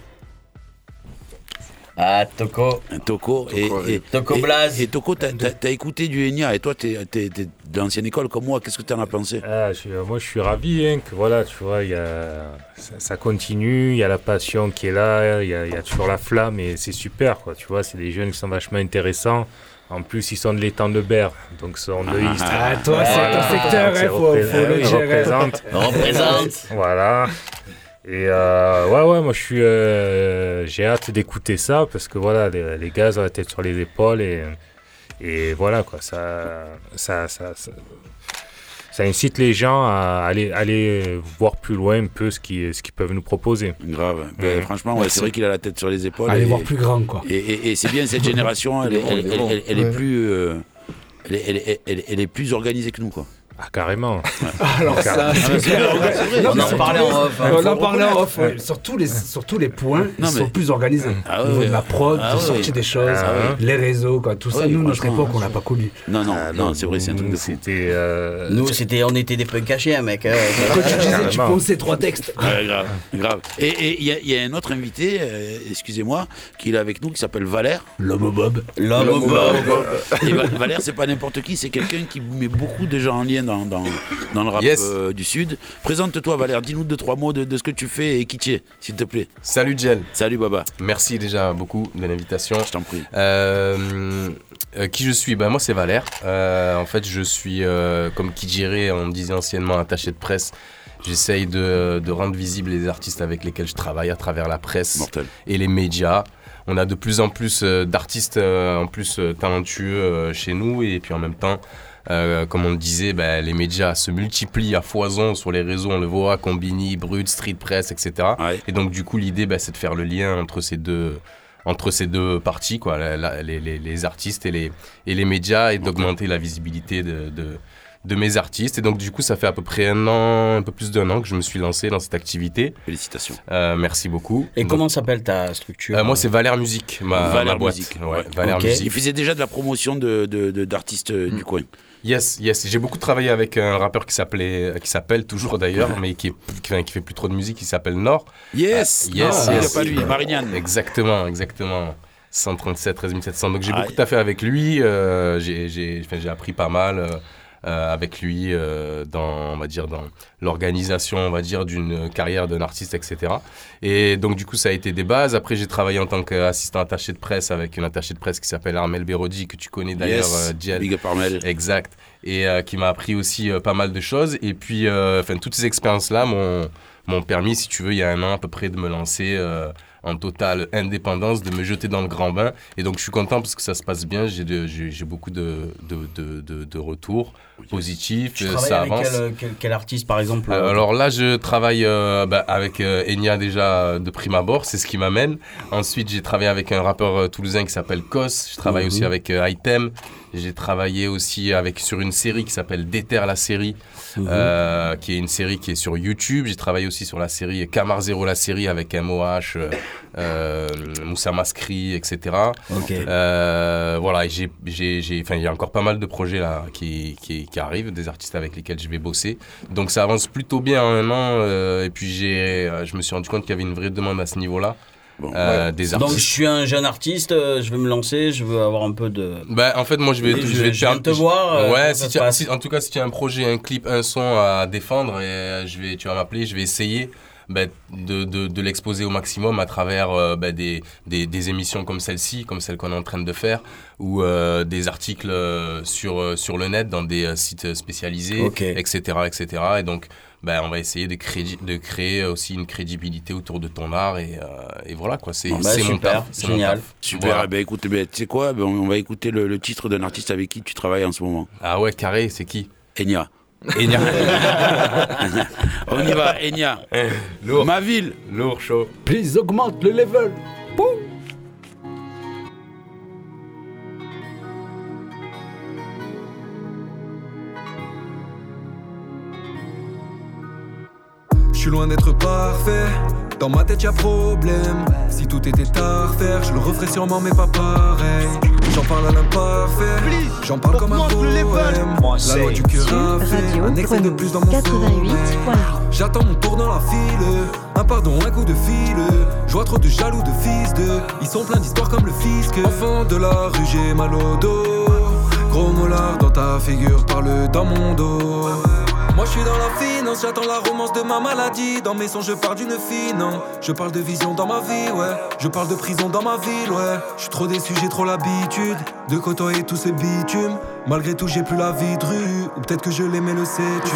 Ah, Toko. Toko. Et, et, Toko et- Blaze. Et Toko, t'as, t'as- t'as écouté du Enya et toi, t'es, t'es, t'es de l'ancienne école comme moi. Qu'est-ce que t'en as pensé? Ah, je suis- moi, je suis ravi hein, que voilà, tu vois, il y a, ça, ça continue, il y a la passion qui est là, il y a, il y a toujours la flamme et c'est super, quoi. Tu vois, c'est des jeunes qui sont vachement intéressants. En plus, ils sont de l'étang de Berre, donc sont de East. Ah, toi, c'est ton secteur, Donc, hein, c'est faut- repré- faut ah le oui, dire, hein. représente. Représente. Voilà. Et euh, ouais, ouais, moi je suis, euh, j'ai hâte d'écouter ça parce que voilà, les, les gars ont la tête sur les épaules et, et voilà quoi, ça, ça, ça, ça, ça incite les gens à aller, aller voir plus loin un peu ce qu'ils, ce qu'ils peuvent nous proposer. Grave. Ben, franchement, ouais, c'est vrai qu'il a la tête sur les épaules. Aller et, voir plus grand, quoi. Et, et- et c'est bien cette génération, elle, est- elle, elle- elle- elle est Ouais. plus, euh, elle, est- elle est- elle est- elle est plus organisée que nous, quoi. Ah carrément. Alors ça, Ah, mais c'est vrai, ouais, c'est vrai. Non, On mais en sur parlait tous les- en off, hein. On Faut en le parlait en reconnaître. off. ouais. Sur tous les, sur tous les points, Non, ils mais- sont plus organisés. Ah Au ouais, niveau de ouais. la prod, Ah de ouais. sortir des choses, Ah ouais. les réseaux, quoi, tout ça. Ouais, Nous, notre franchement, époque, on l'a pas connu. Non, non, Ah, non, c'est vrai, c'est un truc de fou. C'était. euh, Nous, c'était, on était des punks cachés, hein, mec. hein. Quand tu disais, tu Carrément. ponçais trois textes. Ouais, grave, grave. Et et il y, a- il y a un autre invité, euh, excusez-moi, qui est avec nous, qui s'appelle Valère. L'homme Bob. L'homme au bob. Et Va- Valère, c'est pas n'importe qui, c'est quelqu'un qui met beaucoup de gens en lien dans, dans, dans le rap Yes. euh, du Sud. Présente-toi, Valère, dis-nous deux, trois mots de, de ce que tu fais et qui tu es, s'il te plaît. Salut Gel. Salut, Baba. Merci déjà beaucoup de l'invitation. Je t'en prie. Euh, euh, qui je suis ben, moi c'est Valère. Euh, en fait je suis euh, comme qui dirait, on me disait anciennement attaché de presse. J'essaye de, de rendre visibles les artistes avec lesquels je travaille à travers la presse Mortel. et les médias. On a de plus en plus euh, d'artistes euh, en plus euh, talentueux euh, chez nous et puis en même temps Euh, comme on le disait, ben, les médias se multiplient à foison sur les réseaux, on le voit, Combini, Brut, Street Press, et cetera. Ouais. Et donc du coup l'idée ben, c'est de faire le lien entre ces deux, entre ces deux parties, quoi, la- la- les, les- les artistes et les, et les médias, et d'augmenter la visibilité de, de, de mes artistes. Et donc du coup ça fait à peu près un an, un peu plus d'un an que je me suis lancé dans cette activité. Félicitations. Euh, merci beaucoup. Et Donc, comment s'appelle ta structure? euh, moi c'est Valère Musique, ma, Valère ma boîte. Musique. Ouais, Ouais. Valère Ok. Musique. Il faisait déjà de la promotion de, de- de- d'artistes euh, du coin. Yes, yes. J'ai beaucoup travaillé avec un rappeur qui s'appelait, qui s'appelle toujours d'ailleurs, mais qui, est, qui, enfin, qui fait plus trop de musique, qui s'appelle Nord. Yes, Euh, yes, non, il yes. y a pas lui, Marignane. Exactement, exactement. cent trente-sept, treize mille sept cents. Donc j'ai Ah, beaucoup à faire avec lui. euh, j'ai, j'ai, enfin, j'ai appris pas mal euh, euh, avec lui euh, dans, on va dire, dans l'organisation, on va dire, d'une carrière d'un artiste, et cetera. Et donc du coup, ça a été des bases. Après, j'ai travaillé en tant qu'assistant attaché de presse avec une attachée de presse qui s'appelle Armel Berodi, que tu connais d'ailleurs, Yes, euh, Djel. big up Armel. Exact. Et euh, qui m'a appris aussi euh, pas mal de choses. Et puis, euh, enfin, toutes ces expériences-là m'ont, m'ont permis, si tu veux, il y a un an à peu près, de me lancer euh, en totale indépendance, de me jeter dans le grand bain. Et donc, je suis content parce que ça se passe bien. J'ai, de, j'ai, j'ai beaucoup de, de, de, de, de retours positifs. Tu euh, travailles ça avec avance. quel, quel, quel artiste par exemple? Euh, alors là, je travaille euh, bah, avec euh, Enya déjà de prime abord, c'est ce qui m'amène. Ensuite, j'ai travaillé avec un rappeur euh, toulousain qui s'appelle Kos. Je travaille Mhm. aussi avec euh, Item. J'ai travaillé aussi avec, sur une série qui s'appelle Déter la série, Mhm. euh, qui est une série qui est sur YouTube. J'ai travaillé aussi sur la série Camar Zero la série avec M O H, euh, euh, Moussa Maskri, et cetera. Ok. Euh, voilà, et j'ai, j'ai, j'ai, enfin, il y a encore pas mal de projets là qui, qui, qui arrivent, des artistes avec lesquels je vais bosser. Donc ça avance plutôt bien en un an. euh, et puis j'ai, euh, je me suis rendu compte qu'il y avait une vraie demande à ce niveau-là. Bon, euh, ouais. des Donc artistes. je suis un jeune artiste, euh, je veux me lancer, je veux avoir un peu de... Bah, en fait, moi, je vais, Et je, je- vais je viens de te voir, euh, ouais, comment si ça tu se as- passe si- en tout cas, si tu as un projet, un clip, un son à défendre, et euh, je vais, tu vas m'appeler, je vais essayer bah, de, de, de l'exposer au maximum à travers euh, bah, des, des, des émissions comme celle-ci, comme celle qu'on est en train de faire, ou euh, des articles euh, sur, euh, sur le net, dans des euh, sites spécialisés, okay. et cetera, et cetera. Et donc, bah, on va essayer de créer, de créer aussi une crédibilité autour de ton art, et, euh, et voilà, quoi. C'est, bah, c'est mon taf. C'est génial. Mon taf. Super. Voilà. Eh ben, écoute, ben, tu sais quoi, ben, on va écouter le, le titre d'un artiste avec qui tu travailles en ce moment. Ah ouais, carré, c'est qui? Enya. Enya. On y va, Enya. Lourd. Ma ville. Lourd, chaud. Please augmente le level. Boum. Je suis loin d'être parfait. Dans ma tête y'a problème. Si tout était à refaire, je le referais sûrement mais pas pareil. J'en parle à l'imparfait, j'en parle comme un poème. La loi du cœur a fait un excès de plus dans mon sommeil. J'attends mon tour dans la file, un pardon, un coup de fil. Je vois trop de jaloux de fils de. Ils sont pleins d'histoires comme le fisc. Enfant de la rue, j'ai mal au dos. Gros molar dans ta figure, parle dans mon dos. Moi je suis dans la finance, j'attends la romance de ma maladie. Dans mes sons je pars d'une fille, non. Je parle de vision dans ma vie, ouais. Je parle de prison dans ma ville, ouais. Je suis trop déçu, j'ai trop l'habitude de côtoyer tous ces bitumes. Malgré tout j'ai plus la vie de rue. Ou peut-être que je l'aimais, le sais-tu.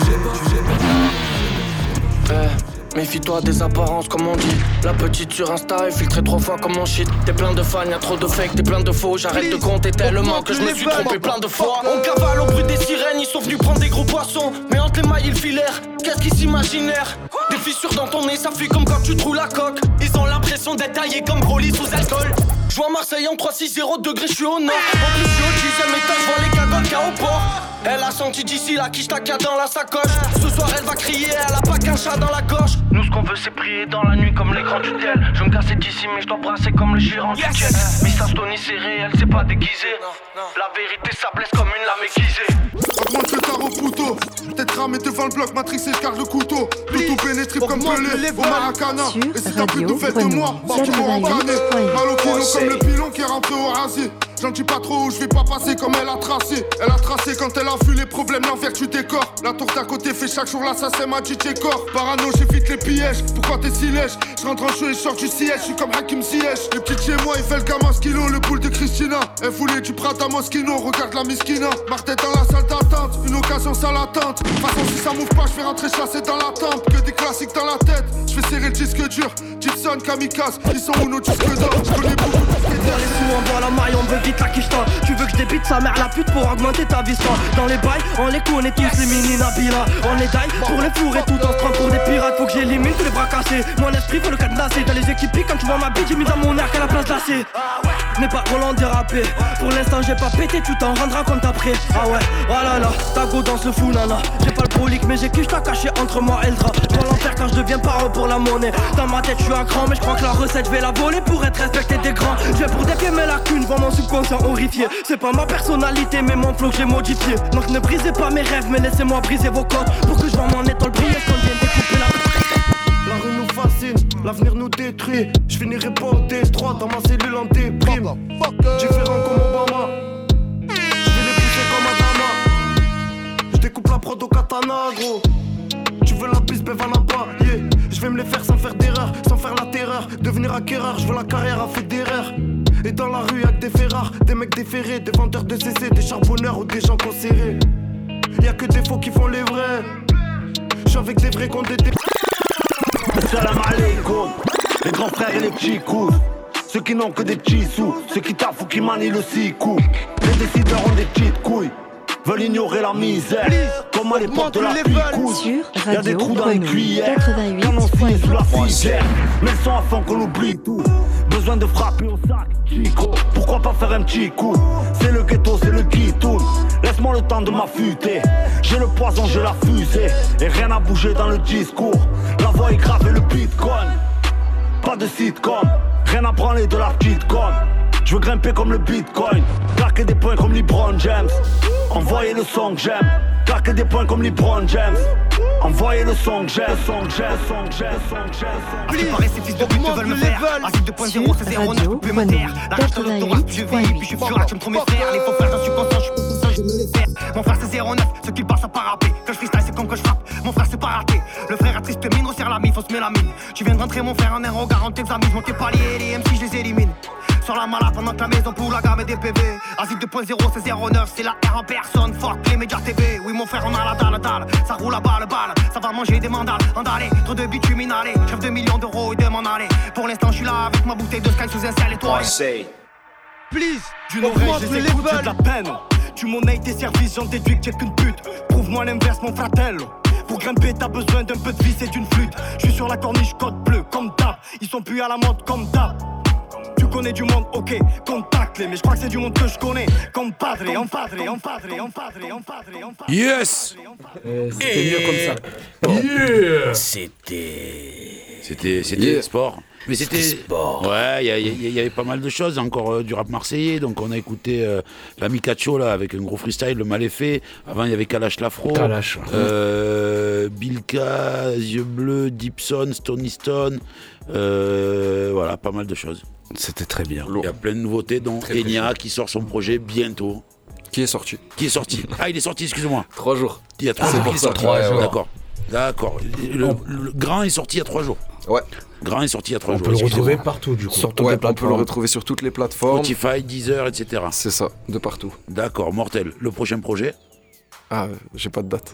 Eh, méfie-toi des apparences comme on dit. La petite sur Insta est filtrée trois fois comme mon shit. T'es plein de fans, y'a trop de fake, t'es plein de faux. J'arrête de compter tellement que je me suis trompé plein de fois. On cavale au bruit des sirènes, ils sont venus prendre des gros poissons. Mais entre les mailles et le filaire, qu'est-ce qu'ils s'imaginèrent? Des fissures dans ton nez, ça fuit comme quand tu trouves la coque. Ils ont l'impression d'être taillés comme Broly sous alcool. J'vois Marseille en trois six zéro degrés, j'suis au nord. En plus j'suis au dixième étage, j'vois les cagoles qu'a au port. Elle a senti d'ici la quiche ta dans la sacoche. Ce soir elle va crier, elle a pas qu'un chat dans la gorge. Nous ce qu'on veut c'est prier dans la nuit comme les grands du tel. Je me casser d'ici mais je dois brasser comme le gérant du jet. Miss Astoni c'est réel, c'est pas déguisé. La vérité ça blesse comme une lame aiguisée. Augmente le tarot couteau. Peut-être ramé devant le bloc, matrixé, je garde le couteau. Tout pénétré comme Pelé au Maracana. Et si t'as plus de fait de moi, bah tu m'auras entraîné. Mal au kilo comme le pilon qui est rentré au rasier. J'en dis pas trop où je vais pas passer comme elle a tracé. Elle a tracé quand elle a vu les problèmes, l'envers du décor. La tour d'à côté fait chaque jour l'assassin m'a dit corps. Parano j'évite les pièges, pourquoi t'es si lèche? Je rentre en jeu et je sors du siège, je suis comme Hakim Ziyech. Les petites chez moi il fait le gamin skilo, le boule de Christina. Elle voulait du Prada Moschino, regarde la miskina. Marthe dans la salle d'attente, une occasion ça l'attente. De toute façon si ça move pas je vais rentrer chasser dans la tempe. Que des classiques dans la tête, je vais serrer le disque dur. Gibson, Kamikaze, ils sont où nos disques d'or? Je connais beaucoup de disques d'or. Les sous on voit la maille, on veut vite la quicheta. Tu veux que je débite sa mère la pute pour augmenter ta vista. Dans les bails, on les connaît tous les mini Nabila. On les taille pour les fourrer tout en se prend pour des pirates. Faut que j'élimine tous les bras cassés. Mon esprit veut le cadenasser. Dans les équipes quand tu vois ma bite, j'ai mis dans mon air qu'à la place lacée. N'est pas Roland dérapé. Pour l'instant j'ai pas pété, tu t'en rendras compte après. Ah ouais, oh là là, ta go danse le fou nana. J'ai pas le prolique mais j'ai quiche t'as caché entre moi et le drap. Dans l'enfer quand je deviens parent pour la monnaie. Dans ma tête je suis à cran mais je crois que la recette je vais la voler pour être respecté des grands. Je vais pour défier mes lacunes, voir mon subconscient horrifié. C'est pas ma personnalité mais mon flow que j'ai modifié. Donc ne brisez pas mes rêves mais laissez-moi briser vos codes. Pour que je vois mon étoile briller quand je viens découper la... La rue nous fascine, l'avenir nous détruit. Je finirai pas au Détroit dans ma cellule en déprime. Différent comme Obama, je vais les pousser comme Adama. Je découpe la prod au katana gros. Tu veux la piste, ben va là-bas, yeah. Je vais me les faire sans faire d'erreur, sans faire la terreur. Devenir acquéreur, je veux la carrière à fait d'erreur. Et dans la rue y'a que des ferrars, des mecs déférés, des vendeurs de C C, des charbonneurs ou des gens concérés. Y'a que des faux qui font les vrais. J'suis avec des vrais comptes des... Salam alaikum, les grands frères et les petits coups. Ceux qui n'ont que des petits sous, ceux qui taffent ou qui manient le six coups. Les décideurs ont des petites couilles, veulent ignorer la misère. Comme à l'époque de la picousse, y'a des trous dans les cuillères. Canon scié sous la figère, mais le son à fond qu'on oublie tout. Besoin de frapper au sac, Chico. Pourquoi pas faire un petit coup? C'est le ghetto, c'est le guitoun. Laisse-moi le temps de m'affûter. J'ai le poison, j'ai la fusée. Et rien n'a bougé dans le discours. La voix est grave et le bitcoin. Pas de sitcom, rien à branler de la petite com. Je veux grimper comme le bitcoin, claquer des points comme LeBron James. Envoyez le son que j'aime, claquer des points comme LeBron James. Envoyez le son que j'aime, son que j'aime, son que j'aime, son que j'aime. À ce qui paraît, ces fils de pute veulent me faire. Acide deux point zéro, c'est zéro neuf, vous pouvez me taire. La rage de l'autorat, je vis, puis je suis furax, je me trouve mes frères. Les faux frères, j'en suis conscient, je suis conscient, je me les faire. Mon frère, c'est zéro neuf, ce qui passe à pas rapper. Quand je freestyle, c'est comme que je frappe. Mon frère, c'est pas raté. Le frère a triste mine, resserre la mif. fausse mélamine. Tu viens de rentrer mon frère en un regard, on t'examine. Mon t'es palier, les M C je les élimine. Sur la malade pendant que la maison pour la gamme et des P V. Asile deux point zéro, c'est zéro neuf, c'est la R en personne. Fuck les médias T V. Oui mon frère on a la dalle, dalle. Ça roule à balle, balle. Ça va manger des mandales, andalé. Trop de bitume inhalé. Chef de millions d'euros et de m'en aller. Pour l'instant je suis là avec ma bouteille de Sky sous un ciel étoilé. Please, d'une oreille, je les écoute, j'ai de la peine. Tu monnaies tes services, j'en déduis que j'ai qu'une pute. Prouve-moi l'inverse, mon fratello. Pour grimper, t'as besoin d'un peu de vis et d'une flûte. Je suis sur la corniche, code bleu, comme d'hab. Ils sont plus à la mode, comme d'hab. Tu connais du monde, ok, contacte-les. Mais je crois que c'est du monde que je connais. Comme padre, en padre, en padre, en padre, en padre, en padre. Yes! Euh, C'était mieux comme ça. Yeah! C'était. C'était, c'était yeah. sport. Mais c'était. Sport. Ouais, il y, y, y avait pas mal de choses. Encore euh, du rap marseillais. Donc on a écouté euh, l'ami Cacho là avec un gros freestyle, le mal effet. Avant il y avait Kalash Lafro. Kalash. Euh, Bilka, Yeux Bleus, Dipson, Stony Stone. Euh, voilà, pas mal de choses. C'était très bien. Il y a plein de nouveautés, dont Enya qui sort son projet bientôt. Qui est sorti Qui est sorti Ah, il est sorti, excuse-moi. Trois jours. Il y a trois ah, jours. C'est pour ça. Trois jours. D'accord. D'accord. Le, le grand est sorti il y a trois jours. Ouais. Grand est sorti il y a trois on jours. peut le retrouver partout, du coup. Sur toutes ouais, les plateformes. On peut le retrouver sur toutes les plateformes. Spotify, Deezer, et cetera. C'est ça, de partout. D'accord, mortel. Le prochain projet Ah, euh, j'ai pas de date.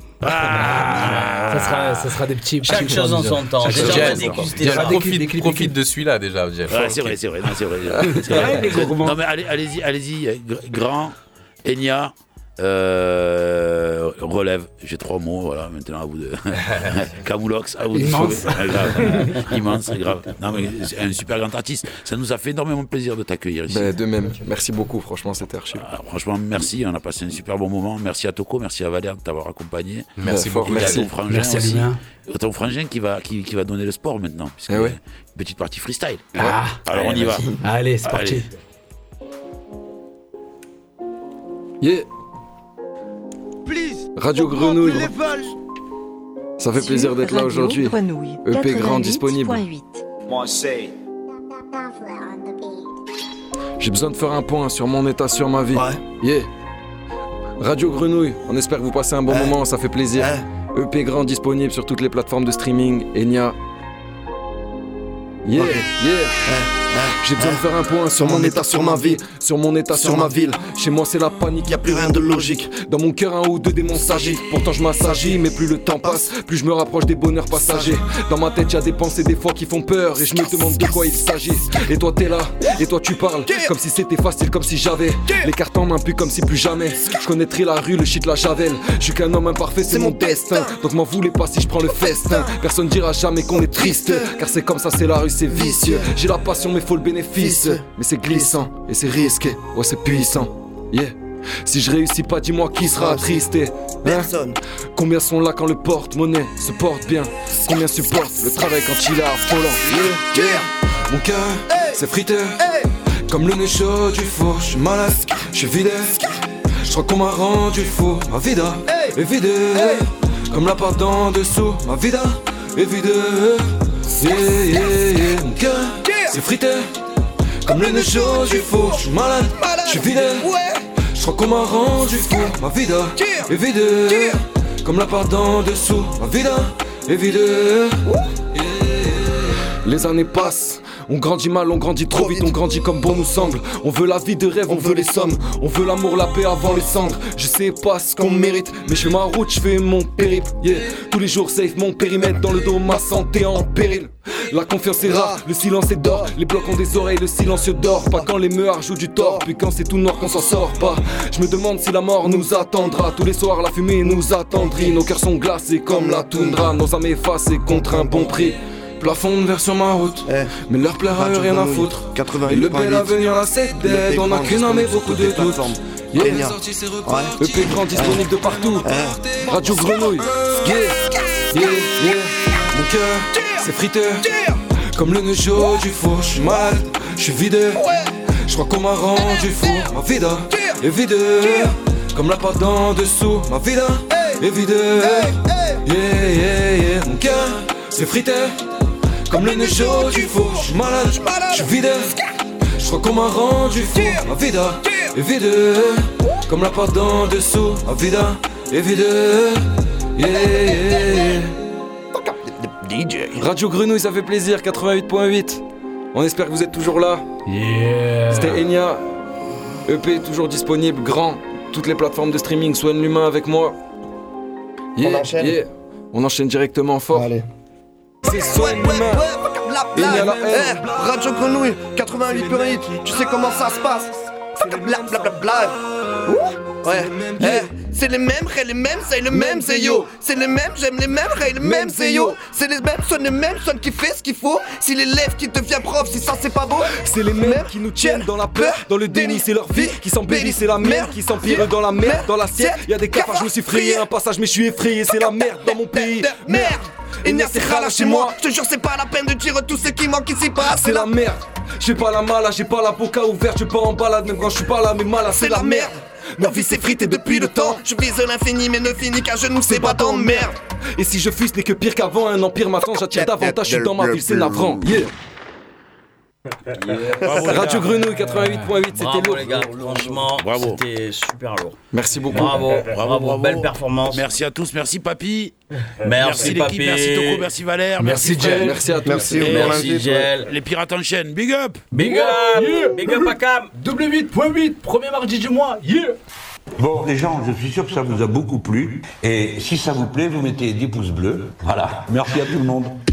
Ah ça, sera, ça sera des petits. Chaque chose en son temps. Déjà, déjà, déjà profite, profite de celui-là déjà. Ouais, c'est vrai, c'est vrai, non, c'est vrai. C'est vrai. Non mais allez, allez-y, allez-y. Grand, Enya. Euh, relève, j'ai trois mots, voilà, maintenant à vous de. Camoulox, à vous de Immense. sauver. Grave. Immense, grave. Non, mais c'est un super grand artiste. Ça nous a fait énormément plaisir de t'accueillir ici. Ben, de même, merci beaucoup, franchement, c'était archi. Ah, franchement, merci, on a passé un super bon moment. Merci à Toko, merci à Valère de t'avoir accompagné. Merci beaucoup, merci. merci. À ton frangin merci aussi. À ton frangin qui va, qui, qui va donner le sport maintenant. Puisque eh ouais. Une petite partie freestyle. Ah, alors on y va. Allez, c'est parti. Yeah. Please, Radio Grenouille. Ça fait plaisir d'être là aujourd'hui. E P Grand disponible. J'ai besoin de faire un point sur mon état, sur ma vie. Ouais. Yeah. Radio Grenouille, on espère que vous passez un bon ouais. moment, ça fait plaisir. Ouais. E P Grand disponible sur toutes les plateformes de streaming. Enya. Yeah, okay. yeah. Ouais. J'ai besoin de faire un point sur mon état, sur ma vie, sur mon état, sur ma ville. Chez moi c'est la panique, y a plus rien de logique. Dans mon cœur un ou deux démons s'agitent. Pourtant je m'assagis, mais plus le temps passe, plus je me rapproche des bonheurs passagers. Dans ma tête y'a des pensées des fois qui font peur, et je me demande de quoi il s'agit. Et toi t'es là, et toi tu parles, comme si c'était facile, comme si j'avais les cartes en main, plus comme si plus jamais. Je connaîtrais la rue, le shit, la javel. Je suis qu'un homme imparfait, c'est mon destin. Donc m'en voulez pas si je prends le festin. Personne dira jamais qu'on est triste, car c'est comme ça, c'est la rue, c'est vicieux. J'ai la passion mais faut le bénéfice. Mais c'est glissant et c'est risqué, ouais c'est puissant, yeah. Si je réussis pas, dis-moi qui sera attristé, hein? Personne. Combien sont là quand le porte-monnaie se porte bien? Combien supportent le travail quand il est affolant, yeah, yeah. Mon cœur, hey. C'est frité, hey. Comme le nez chaud du four, je suis malade, je suis vidé. Je crois qu'on m'a rendu fou, ma vida hey. Est vidée, hey. Comme la part d'en dessous, ma vida est vidée, yeah, yeah, yeah. Mon cœur, yeah. C'est frité, comme le nez chaud du four, j'suis malade, j'suis vidé. Je crois qu'on m'a rendu fou, ma vida est vidée. Comme la part d'en dessous, ma vida est vidée. Les années passent. On grandit mal, on grandit trop vite, on grandit comme bon nous semble. On veut la vie de rêve, on veut les sommes. On veut l'amour, la paix avant les cendres. Je sais pas ce qu'on mérite, mais je fais ma route, je fais mon périple, yeah. Tous les jours safe, mon périmètre dans le dos, ma santé en péril. La confiance est rare, le silence est d'or. Les blocs ont des oreilles, le silencieux dort. Pas quand les meurs jouent du tort, puis quand c'est tout noir qu'on s'en sort pas. Je me demande si la mort nous attendra. Tous les soirs la fumée nous attendrit. Nos cœurs sont glacés comme la toundra. Nos âmes effacées contre un bon prix. Plafond de verre sur ma route, eh, mais leur plaire a eu rien à foutre. Et le bel avenir là c'est dead, on a qu'une âme et beaucoup de doutes. Yeah. Ouais. E P Grand disponible de partout, eh. Radio Grenouille, yeah, yeah, yeah. Mon cœur, c'est frité, comme le nez chaud du four. J'suis malade, j'suis vidé, j'crois qu'on m'a rendu fou. Ma vida est vidée, comme la pâte d'en dessous. Ma vida est vidée, yeah, yeah, yeah. Mon cœur, c'est frité, comme le nez chaud du four, j'suis malade, j'suis vidé. J'crois qu'on m'a rendu fou. Ma vida est vidée, comme la pâte d'en dessous. Ma vida est vidée, yeah, yeah, yeah. D J. Radio Grenouille, ça fait plaisir, quatre-vingt-huit point huit. On espère que vous êtes toujours là. Yeah. C'était Enya. E P toujours disponible, grand. Toutes les plateformes de streaming, soigne l'humain avec moi. Yeah, On enchaîne. yeah. On enchaîne directement fort. Allez. C'est soigne l'humain. Enya la haine. Eh, Radio Grenouille, quatre-vingt-huit point huit, tu sais comment ça se passe? Bla bla bla bla. Ouh, ouais, eh, c'est les mêmes, ré, les mêmes, c'est le même, c'est yo. C'est les mêmes, j'aime les mêmes, ré, les mêmes, c'est yo. C'est les mêmes, sonne les mêmes, sonne qui fait ce qu'il faut. Si l'élève qui devient prof, si ça c'est pas beau. C'est les mêmes qui nous tiennent dans la peur, dans le déni, c'est leur vie qui s'embellit, c'est la merde qui s'empire dans la merde, dans l'assiette. Y'a des cafards, je me suis frayé un passage, mais je suis effrayé, c'est la merde dans mon pays. Merde, il n'y a c'est rala chez moi. Je te jure, c'est pas la peine de dire tout ce qui manque ici pas. C'est la merde. J'ai pas la mala, j'ai pas la boca ouverte, je pas en balade, même quand je suis pas là, mais malade, c'est la merde. Ma vie s'est fritée depuis le temps. Je vise l'infini mais ne finis qu'à genoux, c'est pas tant de merde. Et si je fuis, ce n'est que pire qu'avant, un empire m'attend, j'attire davantage, je suis dans ma ville, c'est navrant. Yeah. Bravo, Radio Grenouille quatre-vingt-huit point huit, c'était lourd. les gars, franchement, Bravo. c'était super lourd. Merci beaucoup. Bravo, bravo, Bravo, bravo. belle performance. Merci à tous, merci Papy. Merci, l'équipe, Papy. merci Toko, merci Valère, Merci, Fred. Jel. Merci à tous. Merci, Et pour Merci l'invite, Gel. Les pirates en chaîne, big up. Big up, big up à Cam. W huit point huit, premier mardi du mois. Yeah. Bon, les gens, je suis sûr que ça vous a beaucoup plu. Et si ça vous plaît, vous mettez dix pouces bleus. Voilà. Merci à tout le monde.